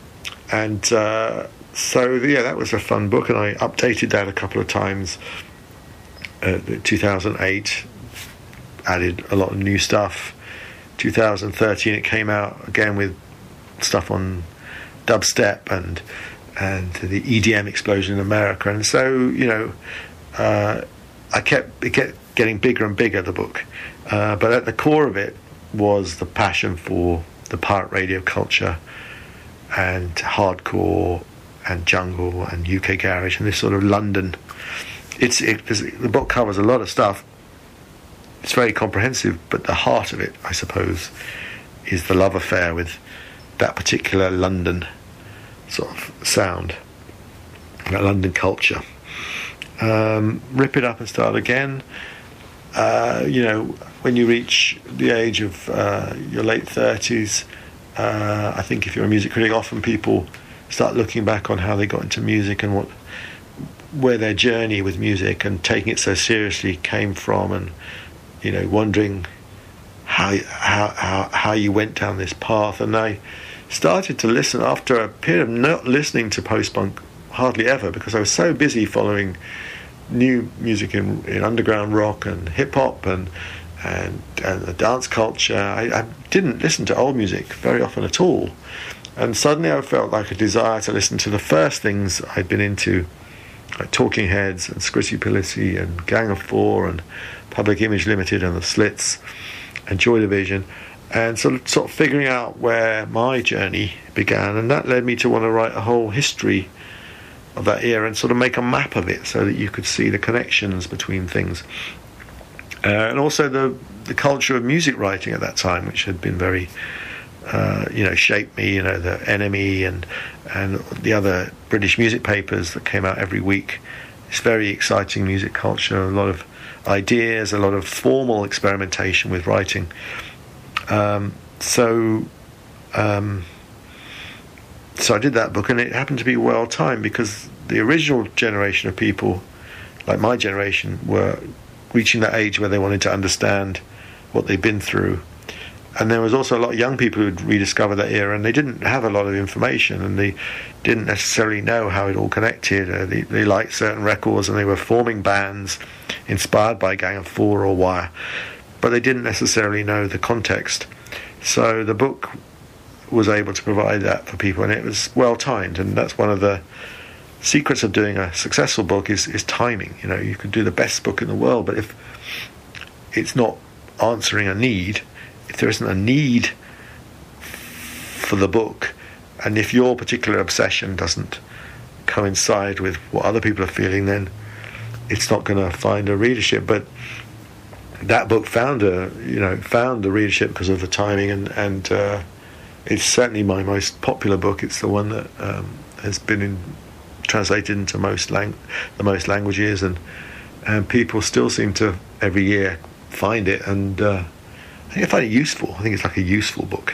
Speaker 2: that was a fun book, and I updated that a couple of times. 2008, added a lot of new stuff. 2013 it came out again with stuff on dubstep and the EDM explosion in America, and so it kept getting bigger and bigger, the book, but at the core of it was the passion for the pirate radio culture and hardcore and jungle and UK garage and this sort of London. The book covers a lot of stuff. It's very comprehensive, but the heart of it, I suppose, is the love affair with that particular London sort of sound, that London culture. Rip it up and start again. When you reach the age of your late 30s, I think if you're a music critic, often people start looking back on how they got into music and where their journey with music and taking it so seriously came from, and wondering how you went down this path. And I started to listen after a period of not listening to post-punk hardly ever, because I was so busy following new music in underground rock and hip-hop and the dance culture. I didn't listen to old music very often at all, and suddenly I felt like a desire to listen to the first things I'd been into, like Talking Heads and Scritti Politti and Gang of Four and Public Image Limited and the Slits and Joy Division, and sort of figuring out where my journey began. And that led me to want to write a whole history of that era and sort of make a map of it so that you could see the connections between things. And also the culture of music writing at that time, which had been very, shaped me, the NME and the other British music papers that came out every week. It's very exciting music culture, a lot of ideas, a lot of formal experimentation with writing. So I did that book, and it happened to be well timed because the original generation of people, like my generation, were reaching that age where they wanted to understand what they'd been through. And there was also a lot of young people who'd rediscovered that era, and they didn't have a lot of information, and they didn't necessarily know how it all connected. They liked certain records, and they were forming bands inspired by Gang of Four or Wire, but they didn't necessarily know the context. So the book was able to provide that for people, and it was well timed. And that's one of the secrets of doing a successful book is timing. You could do the best book in the world, but if it's not answering a need, if there isn't a need for the book, and if your particular obsession doesn't coincide with what other people are feeling, then it's not going to find a readership. But that book found the readership because of the timing, and it's certainly my most popular book. It's the one that has been translated into the most languages, and people still seem to every year find it, and I think I find it useful. I think it's like a useful book.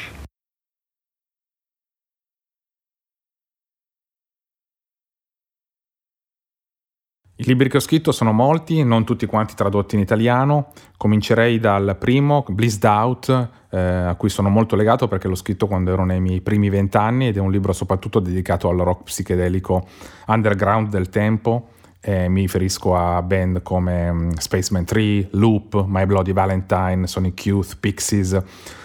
Speaker 1: I libri che ho scritto sono molti, non tutti quanti tradotti in italiano. Comincerei dal primo, Blissed Out, a cui sono molto legato perché l'ho scritto quando ero nei miei primi 20 anni, ed è un libro soprattutto dedicato al rock psichedelico underground del tempo. Mi riferisco a band come Spaceman 3, Loop, My Bloody Valentine, Sonic Youth, Pixies.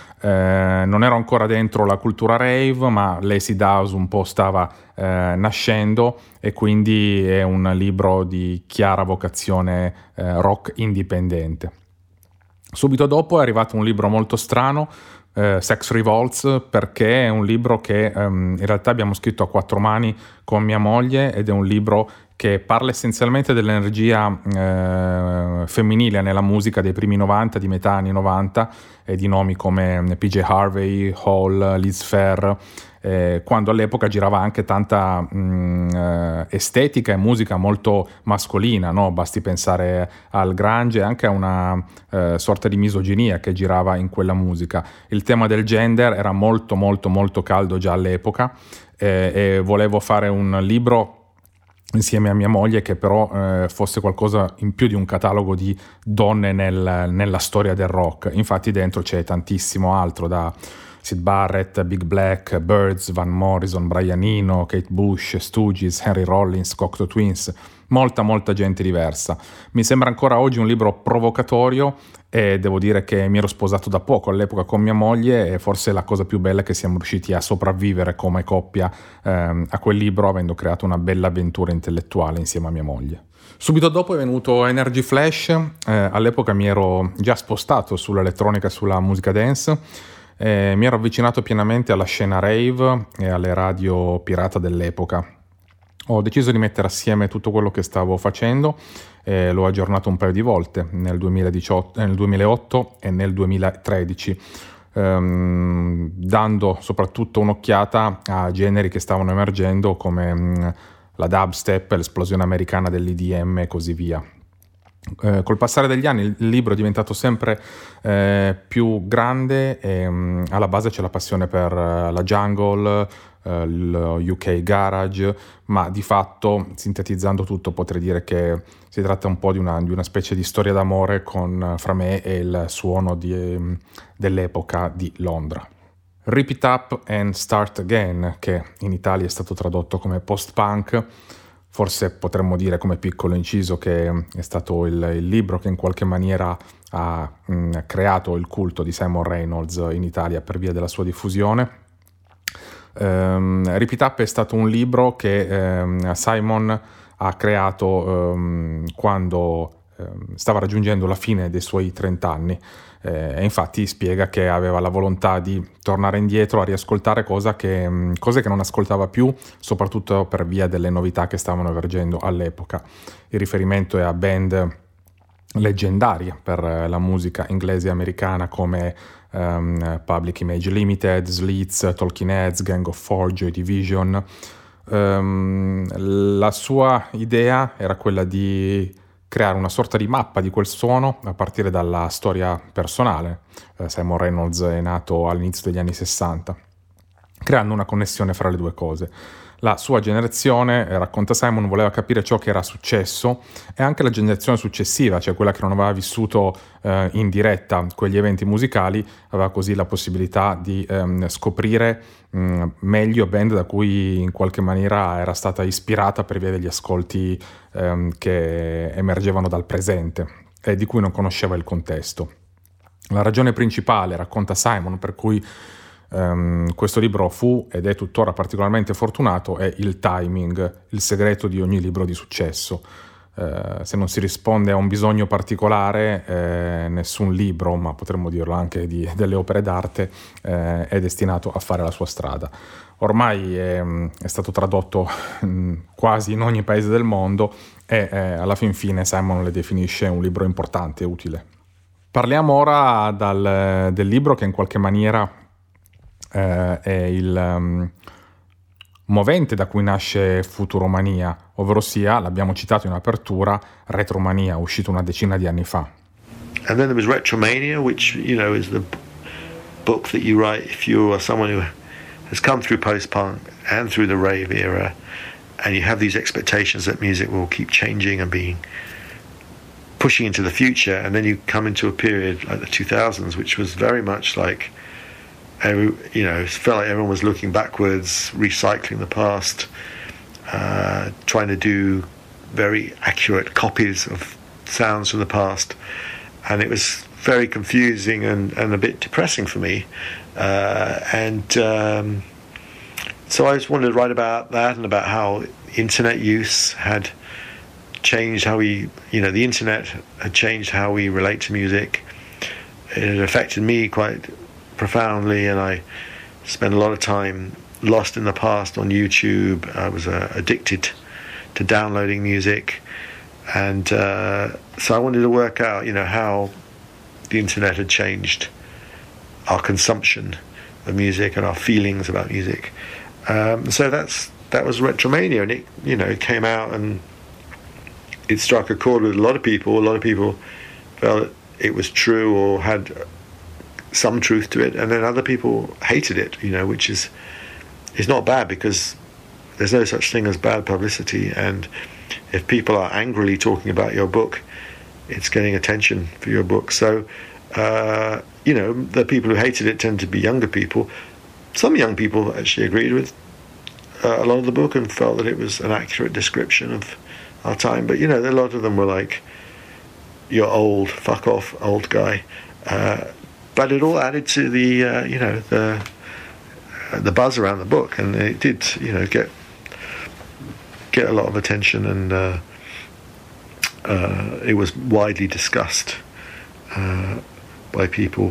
Speaker 1: Non ero ancora dentro la cultura rave, ma l'Acid House un po' stava nascendo, e quindi è un libro di chiara vocazione rock indipendente. Subito dopo è arrivato un libro molto strano, Sex Revolts, perché è un libro che in realtà abbiamo scritto a 4 mani con mia moglie, ed è un libro che parla essenzialmente dell'energia femminile nella musica dei primi 90, di metà anni 90, e di nomi come PJ Harvey, Hall, Liz Phair, quando all'epoca girava anche tanta estetica e musica molto mascolina, no? Basti pensare al grunge e anche a una sorta di misoginia che girava in quella musica. Il tema del gender era molto molto molto caldo già all'epoca, e volevo fare un libro insieme a mia moglie che però fosse qualcosa in più di un catalogo di donne nella storia del rock. Infatti dentro c'è tantissimo altro, da Syd Barrett, Big Black, Byrds, Van Morrison, Brian Eno, Kate Bush, Stooges, Henry Rollins, Cocteau Twins, molta gente diversa. Mi sembra ancora oggi un libro provocatorio, e devo dire che mi ero sposato da poco all'epoca con mia moglie, e forse la cosa più bella è che siamo riusciti a sopravvivere come coppia a quel libro, avendo creato una bella avventura intellettuale insieme a mia moglie. Subito dopo è venuto Energy Flash. All'epoca mi ero già spostato sull'elettronica e sulla musica dance, mi ero avvicinato pienamente alla scena rave e alle radio pirata dell'epoca. Ho deciso di mettere assieme tutto quello che stavo facendo, e l'ho aggiornato un paio di volte, nel 2008 e nel 2013, dando soprattutto un'occhiata a generi che stavano emergendo come la dubstep, l'esplosione americana dell'EDM e così via. Col passare degli anni il libro è diventato sempre più grande, e alla base c'è la passione per la jungle, il UK garage, ma di fatto, sintetizzando tutto, potrei dire che si tratta un po' di una specie di storia d'amore fra me e il suono dell'epoca di Londra. Rip It Up and Start Again, che in Italia è stato tradotto come post-punk. Forse potremmo dire, come piccolo inciso, che è stato il libro che in qualche maniera ha creato il culto di Simon Reynolds in Italia per via della sua diffusione. Rip It Up è stato un libro che Simon ha creato quando stava raggiungendo la fine dei suoi 30 anni e infatti spiega che aveva la volontà di tornare indietro a riascoltare cose che non ascoltava più, soprattutto per via delle novità che stavano emergendo all'epoca. Il riferimento è a band leggendarie per la musica inglese e americana come Public Image Limited, Slits, Talking Heads, Gang of Four, Joy Division. La sua idea era quella di creare una sorta di mappa di quel suono a partire dalla storia personale. Simon Reynolds è nato all'inizio degli anni 60, creando una connessione fra le due cose. La sua generazione, racconta Simon, voleva capire ciò che era successo e anche la generazione successiva, cioè quella che non aveva vissuto in diretta quegli eventi musicali, aveva così la possibilità di scoprire meglio band da cui in qualche maniera era stata ispirata per via degli ascolti che emergevano dal presente e di cui non conosceva il contesto. La ragione principale, racconta Simon, per cui questo libro fu ed è tuttora particolarmente fortunato è il timing, il segreto di ogni libro di successo. Se non si risponde a un bisogno particolare, nessun libro, ma potremmo dirlo anche delle opere d'arte, è destinato a fare la sua strada. Ormai è stato tradotto quasi in ogni paese del mondo e alla fin fine Simon le definisce un libro importante e utile. Parliamo ora del libro che in qualche maniera è il movente da cui nasce Futuromania, ovvero sia, l'abbiamo citato in apertura, Retromania, uscito una decina di anni fa.
Speaker 2: And then there was Retromania, which, you know, is the book that you write if you are someone who has come through post-punk and through the rave era, and you have these expectations that music will keep changing and pushing into the future, and then you come into a period like the 2000s, which was very much like, it felt like everyone was looking backwards, recycling the past, trying to do very accurate copies of sounds from the past, and it was very confusing and a bit depressing for me. So I just wanted to write about that and about how internet use had changed how the internet had changed how we relate to music. It had affected me quite profoundly, and I spent a lot of time lost in the past on YouTube. I was addicted to downloading music, and so I wanted to work out, how the internet had changed our consumption of music and our feelings about music. So that was Retromania, and it came out and it struck a chord with a lot of people. A lot of people felt it was true or had some truth to it, and then other people hated it, which is not bad, because there's no such thing as bad publicity, and if people are angrily talking about your book, it's getting attention for your book. So the people who hated it tend to be younger people. Some young people actually agreed with a lot of the book and felt that it was an accurate description of our time, but a lot of them were like, "You're old, fuck off, old guy." But it all added to the buzz around the book, and it did get a lot of attention, and it was widely discussed by people.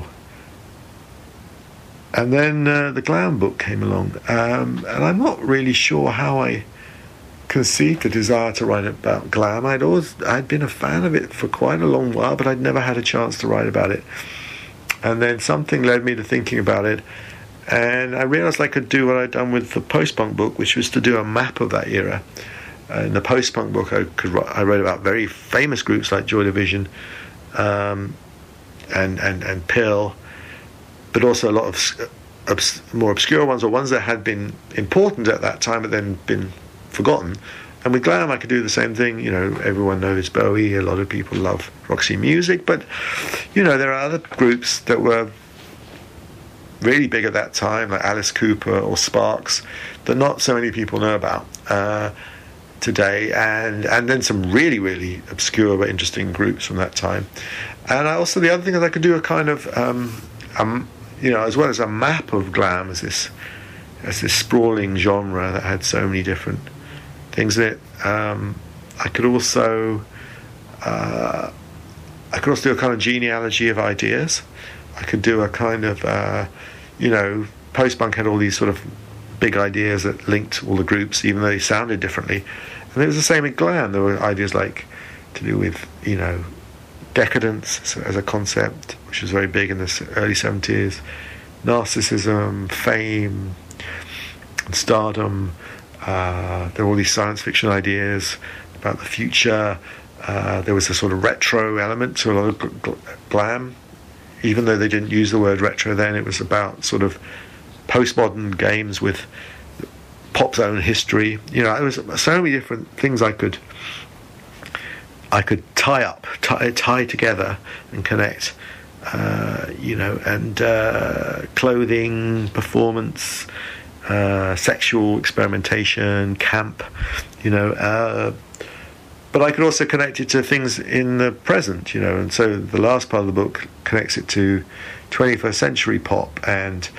Speaker 2: And then the glam book came along, and I'm not really sure how I conceived the desire to write about glam. I'd been a fan of it for quite a long while, but I'd never had a chance to write about it. And then something led me to thinking about it, and I realized I could do what I'd done with the post-punk book, which was to do a map of that era. In the post-punk book, I wrote about very famous groups like Joy Division and Pill, but also a lot of more obscure ones, or ones that had been important at that time but then been forgotten. And with glam, I could do the same thing. Everyone knows Bowie. A lot of people love Roxy Music, but there are other groups that were really big at that time, like Alice Cooper or Sparks, that not so many people know about today, and then some really, really obscure but interesting groups from that time. And the other thing is I could do a kind of as well as a map of glam as this sprawling genre that had so many different things in it. I could also I could also do a kind of genealogy of ideas. I could do a kind of, post-punk had all these sort of big ideas that linked all the groups, even though they sounded differently. And it was the same in glam. There were ideas like to do with, decadence as a concept, which was very big in the early 70s, narcissism, fame, and stardom. There were all these science fiction ideas about the future. There was a sort of retro element to a lot of glam. Even though they didn't use the word retro then, it was about sort of postmodern games with pop's own history. There was so many different things I could tie together and connect. Clothing, performance, sexual experimentation, camp, but I could also connect it to things in the present, and so the last part of the book connects it to 21st century pop and,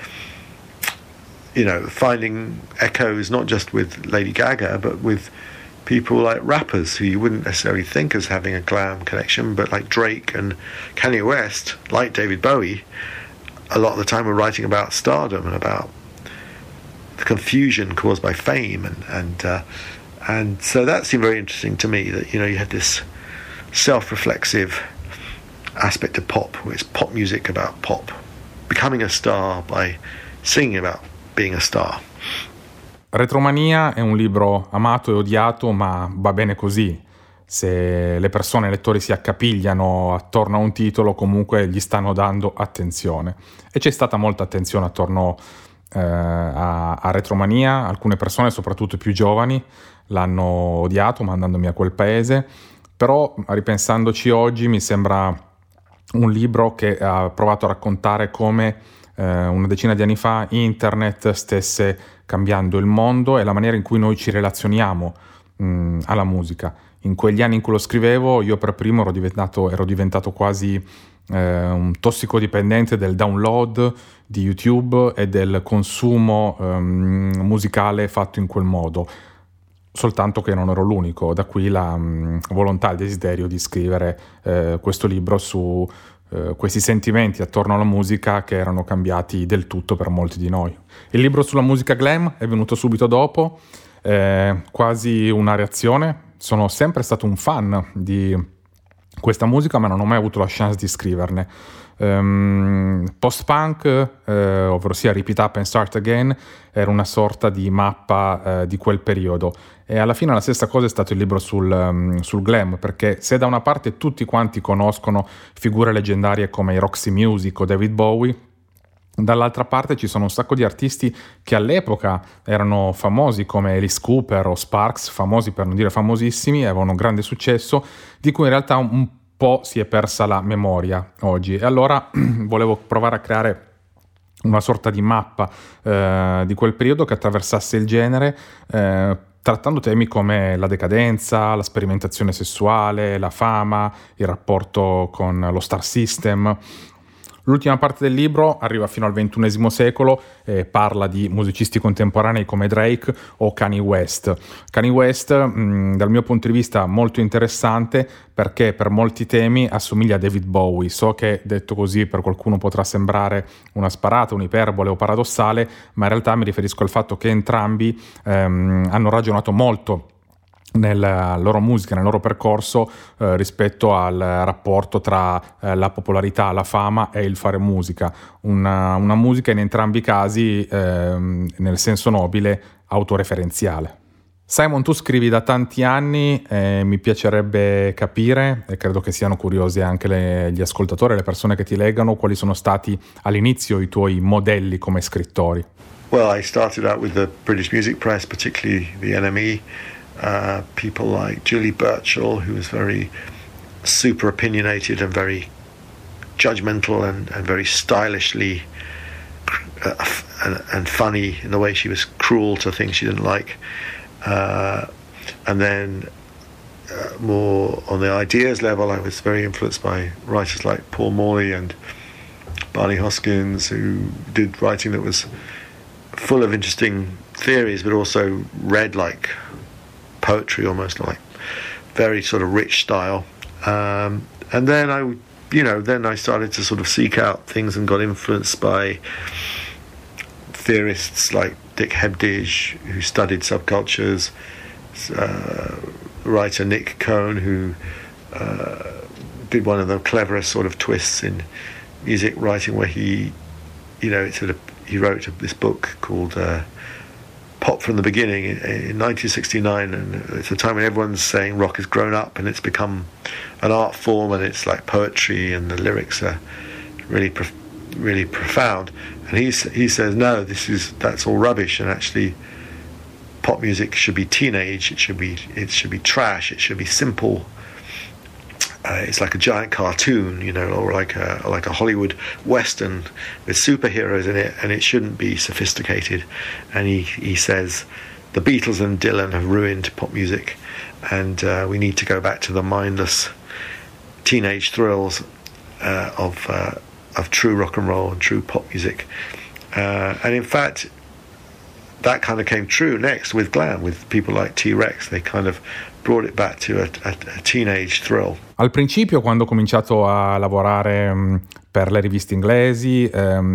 Speaker 2: finding echoes not just with Lady Gaga, but with people like rappers who you wouldn't necessarily think as having a glam connection, but like Drake and Kanye West, like David Bowie, a lot of the time were writing about stardom and about the confusion caused by fame, and so that seemed very interesting to me, that you had this self-reflexive aspect of pop, where it's pop music about pop, becoming a star by singing about being a star.
Speaker 1: Retromania è un libro amato e odiato, ma va bene così. Se le persone, i lettori, si accapigliano attorno a un titolo, comunque gli stanno dando attenzione. E c'è stata molta attenzione attorno a Retromania. Alcune persone, soprattutto più giovani, l'hanno odiato mandandomi a quel paese, però ripensandoci oggi mi sembra un libro che ha provato a raccontare come una decina di anni fa internet stesse cambiando il mondo e la maniera in cui noi ci relazioniamo alla musica. In quegli anni in cui lo scrivevo, io per primo ero diventato quasi un tossicodipendente del download di YouTube e del consumo musicale fatto in quel modo, soltanto che non ero l'unico. Da qui la volontà, il desiderio di scrivere questo libro su questi sentimenti attorno alla musica che erano cambiati del tutto per molti di noi. Il libro sulla musica glam è venuto subito dopo, quasi una reazione. Sono sempre stato un fan di questa musica, ma non ho mai avuto la chance di scriverne. Post-punk, ovvero sia Repeat Up and Start Again, era una sorta di mappa di quel periodo, e alla fine la stessa cosa è stato il libro sul glam, perché se da una parte tutti quanti conoscono figure leggendarie come i Roxy Music o David Bowie, dall'altra parte ci sono un sacco di artisti che all'epoca erano famosi come Alice Cooper o Sparks, famosi per non dire famosissimi, avevano grande successo, di cui in realtà un po' si è persa la memoria oggi. E allora volevo provare a creare una sorta di mappa di quel periodo che attraversasse il genere, trattando temi come la decadenza, la sperimentazione sessuale, la fama, il rapporto con lo star system. L'ultima parte del libro arriva fino al XXI secolo e parla di musicisti contemporanei come Drake o Kanye West. Kanye West, dal mio punto di vista, molto interessante perché per molti temi assomiglia a David Bowie. So che detto così per qualcuno potrà sembrare una sparata, un'iperbole o paradossale, ma in realtà mi riferisco al fatto che entrambi hanno ragionato molto nella loro musica, nel loro percorso rispetto al rapporto tra la popolarità, la fama e il fare musica, una musica in entrambi i casi nel senso nobile autoreferenziale. Simon, tu scrivi da tanti anni e mi piacerebbe capire, e credo che siano curiosi anche gli ascoltatori, le persone che ti leggano, quali sono stati all'inizio i tuoi modelli come scrittori.
Speaker 2: Well, I started out with the British Music Press, particularly the NME. People like Julie Burchill, who was very super opinionated and very judgmental and very stylishly and funny in the way she was cruel to things she didn't like. And then more on the ideas level, I was very influenced by writers like Paul Morley and Barney Hoskyns, who did writing that was full of interesting theories, but also read like poetry, almost like very sort of rich style. And then I started to sort of seek out things and got influenced by theorists like Dick Hebdige, who studied subcultures, writer Nick Cohn, who did one of the cleverest sort of twists in music writing, where he wrote this book called Pop from the Beginning in 1969, and it's a time when everyone's saying rock has grown up and it's become an art form, and it's like poetry and the lyrics are really really profound. And he says no, that's all rubbish, and actually pop music should be teenage, it should be trash, it should be simple. It's like a giant cartoon, or like a Hollywood Western with superheroes in it, and it shouldn't be sophisticated. And he says the Beatles and Dylan have ruined pop music, and we need to go back to the mindless teenage thrills of true rock and roll and true pop music. And in fact, that kind of came true next with glam, with people like T-Rex. They kind of brought it back to a teenage thrill.
Speaker 1: Al principio, quando ho cominciato a lavorare per le riviste inglesi,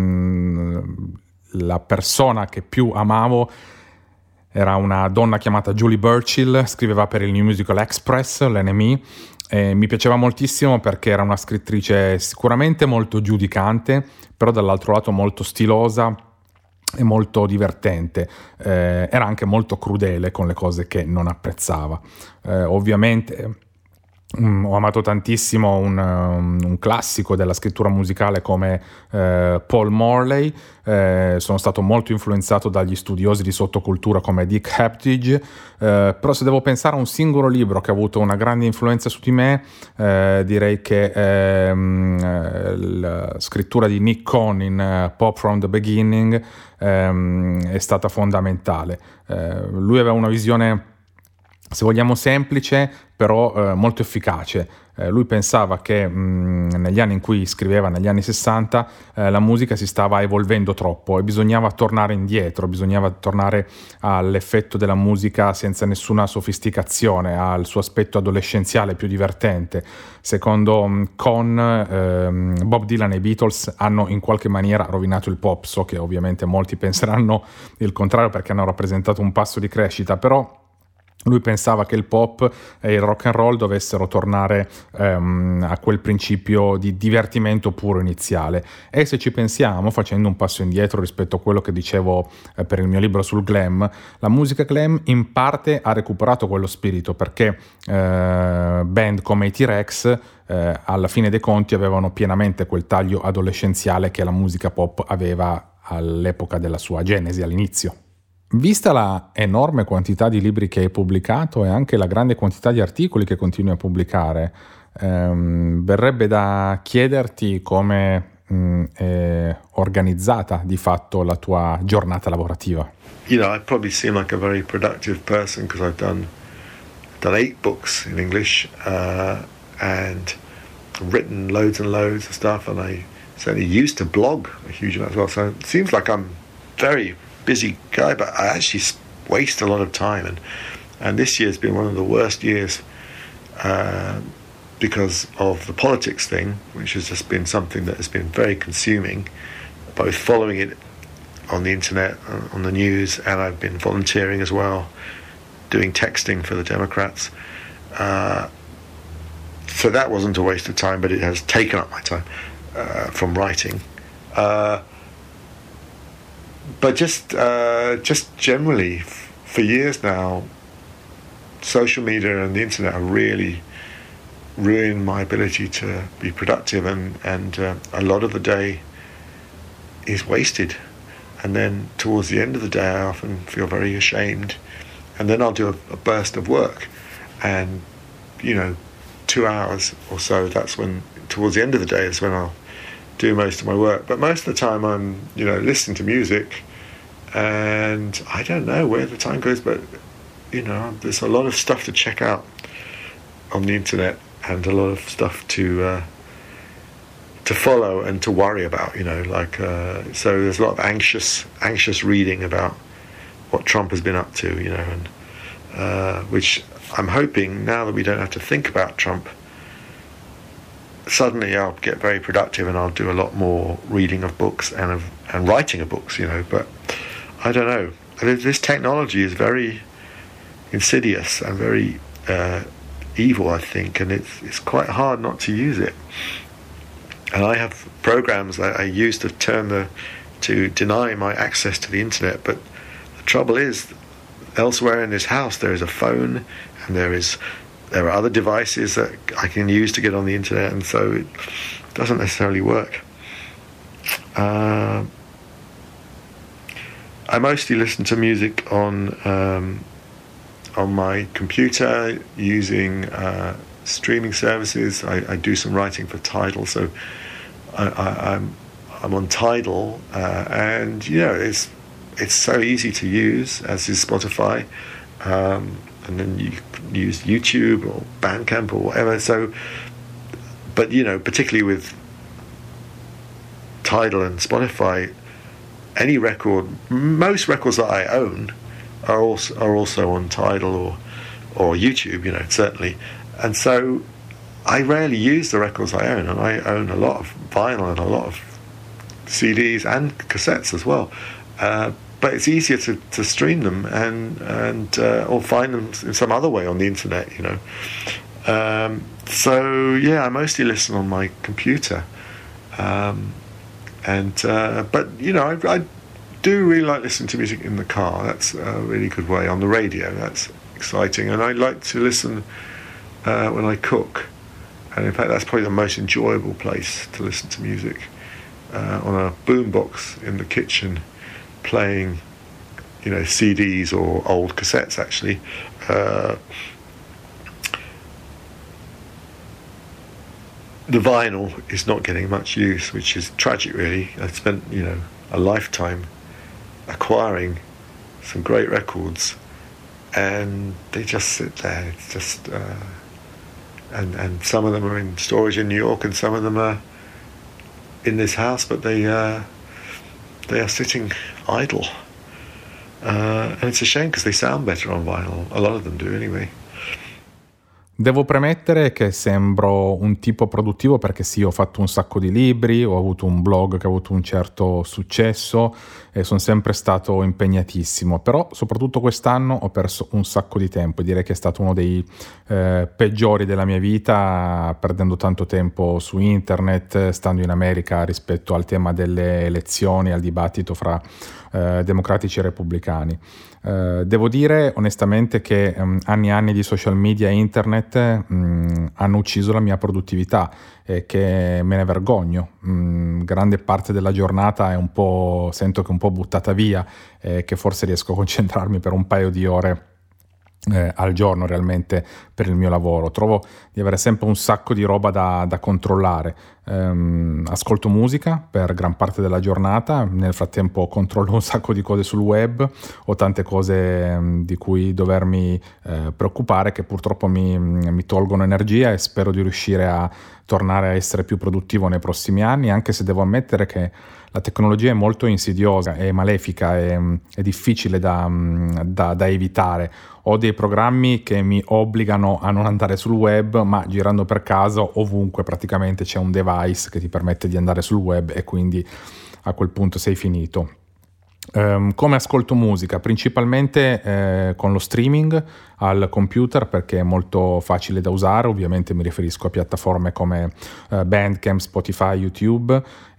Speaker 1: la persona che più amavo era una donna chiamata Julie Burchill, scriveva per il New Musical Express, l'NME, e mi piaceva moltissimo perché era una scrittrice sicuramente molto giudicante, però dall'altro lato molto stilosa e molto divertente. Era anche molto crudele con le cose che non apprezzava. Ovviamente ho amato tantissimo un classico della scrittura musicale come Paul Morley. Sono stato molto influenzato dagli studiosi di sottocultura come Dick Hebdige, però se devo pensare a un singolo libro che ha avuto una grande influenza su di me, direi che la scrittura di Nick Cohn in Pop from the Beginning è stata fondamentale. Lui aveva una visione, se vogliamo, semplice, però molto efficace. Lui pensava che negli anni in cui scriveva, negli anni 60, la musica si stava evolvendo troppo e bisognava tornare indietro, bisognava tornare all'effetto della musica senza nessuna sofisticazione, al suo aspetto adolescenziale più divertente. Secondo Cohn, Bob Dylan e i Beatles hanno in qualche maniera rovinato il pop. So che ovviamente molti penseranno il contrario, perché hanno rappresentato un passo di crescita, però lui pensava che il pop e il rock and roll dovessero tornare a quel principio di divertimento puro iniziale. E se ci pensiamo, facendo un passo indietro rispetto a quello che dicevo per il mio libro sul glam, la musica glam in parte ha recuperato quello spirito, perché band come i T-Rex alla fine dei conti avevano pienamente quel taglio adolescenziale che la musica pop aveva all'epoca della sua genesi, all'inizio. Vista la enorme quantità di libri che hai pubblicato e anche la grande quantità di articoli che continui a pubblicare, verrebbe da chiederti come è organizzata di fatto la tua giornata lavorativa.
Speaker 2: I probably seem like a very productive person because I've done 8 books in English and written loads and loads of stuff, and I certainly used to blog a huge amount as well. So it seems like I'm very busy guy, but I actually waste a lot of time, and this year's been one of the worst years because of the politics thing, which has just been something that has been very consuming, both following it on the internet, on the news, and I've been volunteering as well, doing texting for the Democrats. So that wasn't a waste of time, but it has taken up my time from writing. But just generally, for years now, social media and the internet have really ruined my ability to be productive, and a lot of the day is wasted. And then towards the end of the day, I often feel very ashamed. And then I'll do a burst of work, and 2 hours or so. That's when, towards the end of the day, is when I'll do most of my work. But most of the time I'm listening to music, and I don't know where the time goes, but there's a lot of stuff to check out on the internet, and a lot of stuff to follow and to worry about, so there's a lot of anxious reading about what Trump has been up to, and which I'm hoping, now that we don't have to think about Trump suddenly I'll get very productive and I'll do a lot more reading of books and writing of books, but I don't know. This technology is very insidious and very evil, I think, and it's quite hard not to use it. And I have programs that I use to deny my access to the internet, but the trouble is, elsewhere in this house there is a phone, and there are other devices that I can use to get on the internet, and so it doesn't necessarily work. I mostly listen to music on my computer using streaming services. I do some writing for Tidal, so I'm on Tidal, and it's so easy to use, as is Spotify, and then you can use YouTube or Bandcamp or whatever. So, but particularly with Tidal and Spotify, any record, most records that I own are also on Tidal or YouTube, certainly. And so I rarely use the records I own, and I own a lot of vinyl and a lot of CDs and cassettes as well. But it's easier to stream them and or find them in some other way on the internet, So yeah, I mostly listen on my computer. But I do really like listening to music in the car. That's a really good way. On the radio, that's exciting. And I like to listen when I cook. And in fact, that's probably the most enjoyable place to listen to music, on a boombox in the kitchen, playing, CDs or old cassettes, actually. The vinyl is not getting much use, which is tragic, really. I spent, a lifetime acquiring some great records, and they just sit there. It's just, and some of them are in storage in New York, and some of them are in this house, but they are sitting idle. And it's a shame because they sound better on vinyl. A lot of them do, anyway.
Speaker 1: Devo premettere che sembro un tipo produttivo perché sì, ho fatto un sacco di libri, ho avuto un blog che ha avuto un certo successo e sono sempre stato impegnatissimo, però soprattutto quest'anno ho perso un sacco di tempo e direi che è stato uno dei peggiori della mia vita, perdendo tanto tempo su internet, stando in America rispetto al tema delle elezioni, al dibattito fra democratici e repubblicani. Devo dire onestamente che anni e anni di social media e internet hanno ucciso la mia produttività e che me ne vergogno. Grande parte della giornata sento che è un po' buttata via e che forse riesco a concentrarmi per un paio di ore al giorno realmente per il mio lavoro. Trovo di avere sempre un sacco di roba da controllare. Ascolto musica per gran parte della giornata, nel frattempo controllo un sacco di cose sul web, ho tante cose di cui dovermi preoccupare che purtroppo mi tolgono energia e spero di riuscire a tornare a essere più produttivo nei prossimi anni, anche se devo ammettere che la tecnologia è molto insidiosa, è malefica, è difficile da evitare. Ho dei programmi che mi obbligano a non andare sul web, ma girando per casa ovunque praticamente c'è un device che ti permette di andare sul web e quindi a quel punto sei finito. Come ascolto musica? Principalmente con lo streaming al computer perché è molto facile da usare, ovviamente mi riferisco a piattaforme come Bandcamp, Spotify, YouTube.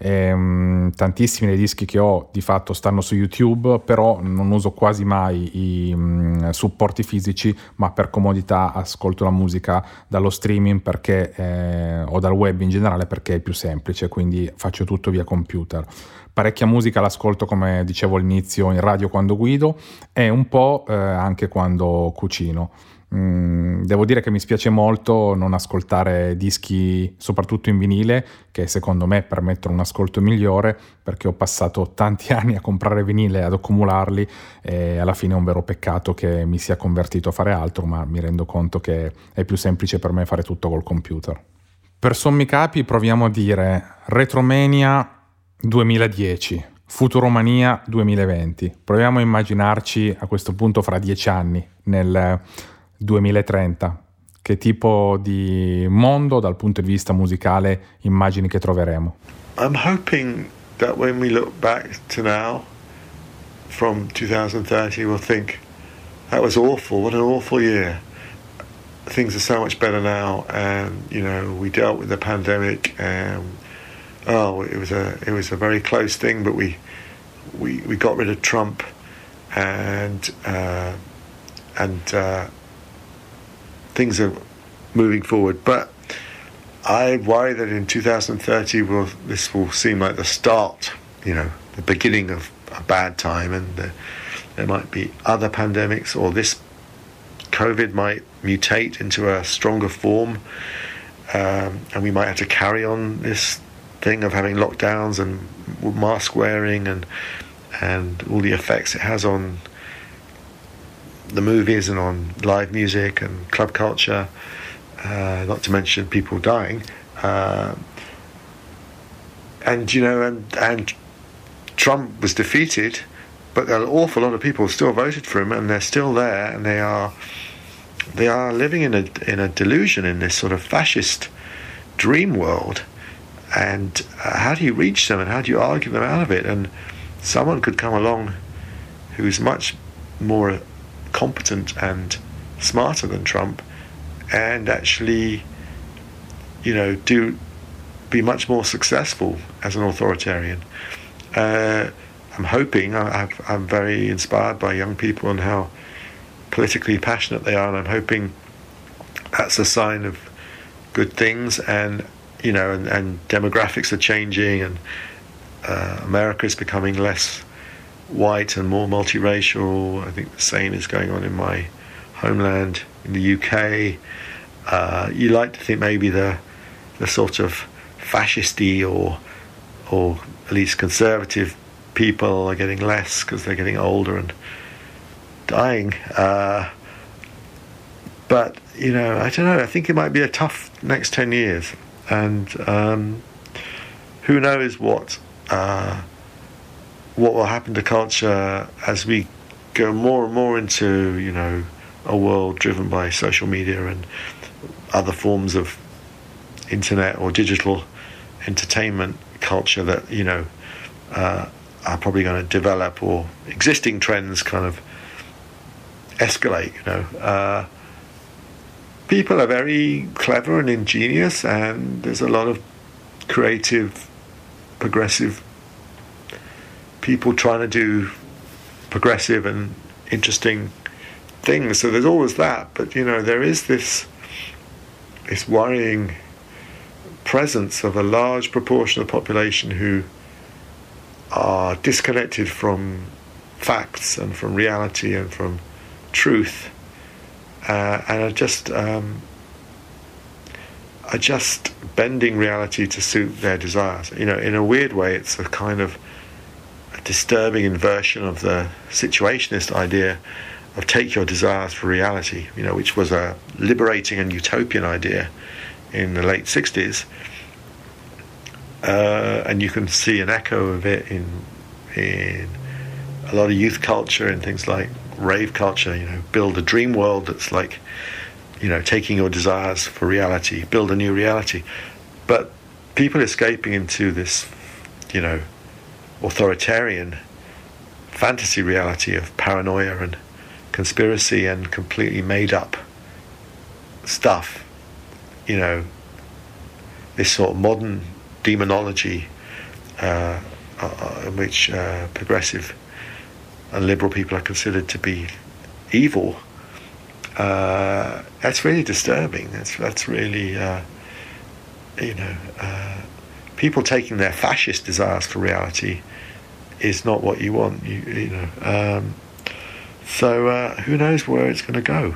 Speaker 1: Tantissimi dei dischi che ho di fatto stanno su YouTube, però non uso quasi mai i supporti fisici, ma per comodità ascolto la musica dallo streaming perché o dal web in generale perché è più semplice, quindi faccio tutto via computer. Parecchia musica l'ascolto, come dicevo all'inizio, in radio quando guido e un po' anche quando cucino. Devo dire che mi spiace molto non ascoltare dischi, soprattutto in vinile, che secondo me permettono un ascolto migliore, perché ho passato tanti anni a comprare vinile e ad accumularli e alla fine è un vero peccato che mi sia convertito a fare altro, ma mi rendo conto che è più semplice per me fare tutto col computer. Per sommi capi proviamo a dire Retromania 2010, Futuromania 2020. Proviamo a immaginarci a questo punto fra 10 anni, nel 2030. che tipo di mondo dal punto di vista musicale immagini che troveremo?
Speaker 2: I'm hoping that when we look back to now, from 2030, we'll think, that was awful, what an awful year. Things are so much better now, and we dealt with the pandemic, and it was a very close thing, but we got rid of Trump, and things are moving forward. But I worry that in 2030 this will seem like the start, the beginning of a bad time, and there might be other pandemics, or this COVID might mutate into a stronger form, and we might have to carry on this thing of having lockdowns and mask wearing and all the effects it has on the movies and on live music and club culture, not to mention people dying, and Trump was defeated, but an awful lot of people still voted for him, and they're still there, and they are living in a delusion, in this sort of fascist dream world. And how do you reach them, and how do you argue them out of it? And someone could come along who's much more competent and smarter than Trump, and actually, be much more successful as an authoritarian. I'm hoping, I'm very inspired by young people and how politically passionate they are, and I'm hoping that's a sign of good things. And and demographics are changing, and America is becoming less white and more multiracial. I think the same is going on in my homeland in the UK. You like to think maybe the sort of fascisty or at least conservative people are getting less because they're getting older and dying. But I don't know. I think it might be a tough next 10 years, and who knows what will happen to culture as we go more and more into a world driven by social media and other forms of internet or digital entertainment culture that are probably going to develop, or existing trends kind of escalate. People are very clever and ingenious, and there's a lot of creative, progressive people trying to do progressive and interesting things. So there's always that, but there is this worrying presence of a large proportion of the population who are disconnected from facts and from reality and from truth, and are just bending reality to suit their desires. In a weird way, it's a kind of a disturbing inversion of the situationist idea of take your desires for reality, which was a liberating and utopian idea in the late 60s. And you can see an echo of it in a lot of youth culture and things like rave culture. Build a dream world that's like, taking your desires for reality, build a new reality. But people escaping into this, authoritarian fantasy reality of paranoia and conspiracy and completely made up stuff, this sort of modern demonology in which progressive and liberal people are considered to be evil. That's really disturbing. That's really people taking their fascist desires for reality is not what you want. So who knows where it's going to go?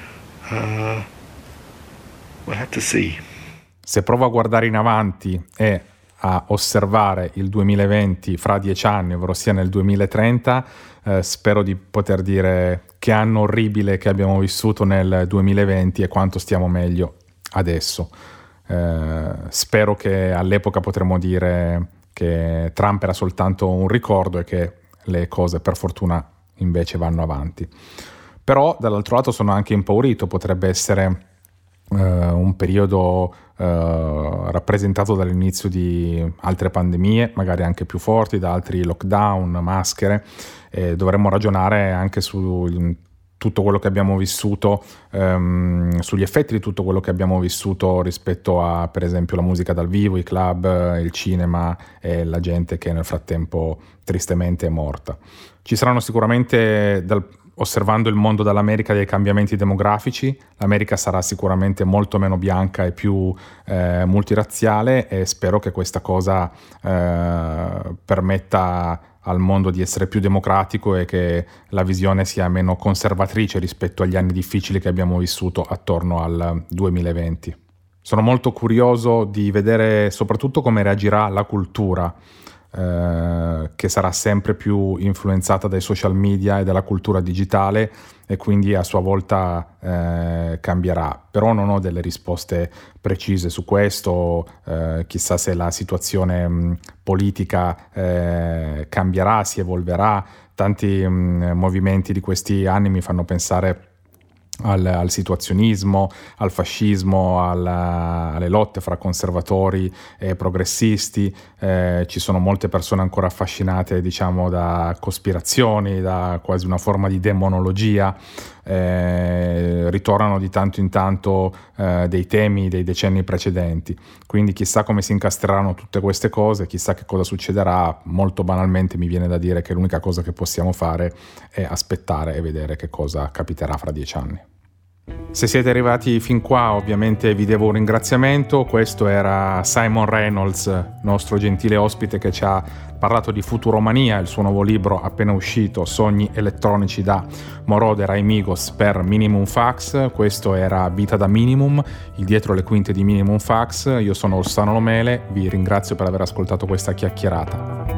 Speaker 2: We'll have to see.
Speaker 1: Se provo a guardare in avanti e a osservare il 2020 fra 10 anni, ovvero sia nel 2030, spero di poter dire che anno orribile che abbiamo vissuto nel 2020 e quanto stiamo meglio adesso. Spero che all'epoca potremo dire che Trump era soltanto un ricordo e che le cose per fortuna invece vanno avanti. Però dall'altro lato sono anche impaurito, potrebbe essere un periodo rappresentato dall'inizio di altre pandemie, magari anche più forti, da altri lockdown, maschere, e dovremmo ragionare anche su tutto quello che abbiamo vissuto, sugli effetti di tutto quello che abbiamo vissuto rispetto a, per esempio, la musica dal vivo, i club, il cinema e la gente che nel frattempo tristemente è morta. Ci saranno sicuramente, osservando il mondo dall'America, dei cambiamenti demografici. L'America sarà sicuramente molto meno bianca e più multirazziale, e spero che questa cosa permetta al mondo di essere più democratico e che la visione sia meno conservatrice rispetto agli anni difficili che abbiamo vissuto attorno al 2020. Sono molto curioso di vedere soprattutto come reagirà la cultura, che sarà sempre più influenzata dai social media e dalla cultura digitale, e quindi a sua volta cambierà. Però non ho delle risposte precise su questo, chissà se la situazione politica cambierà, si evolverà. Tanti movimenti di questi anni mi fanno pensare al situazionismo, al fascismo, alle lotte fra conservatori e progressisti. Ci sono molte persone ancora affascinate, diciamo, da cospirazioni, da quasi una forma di demonologia. Ritornano di tanto in tanto dei temi dei decenni precedenti, quindi chissà come si incastreranno tutte queste cose, chissà che cosa succederà. Molto banalmente mi viene da dire che l'unica cosa che possiamo fare è aspettare e vedere che cosa capiterà fra 10 anni. Se siete arrivati fin qua, ovviamente vi devo un ringraziamento. Questo era Simon Reynolds, nostro gentile ospite, che ci ha parlato di Futuromania, il suo nuovo libro appena uscito, Sogni elettronici da Moroder ai Migos per Minimum Fax. Questo era Vita da Minimum, il dietro le quinte di Minimum Fax. Io sono Rossano Lomele, vi ringrazio per aver ascoltato questa chiacchierata.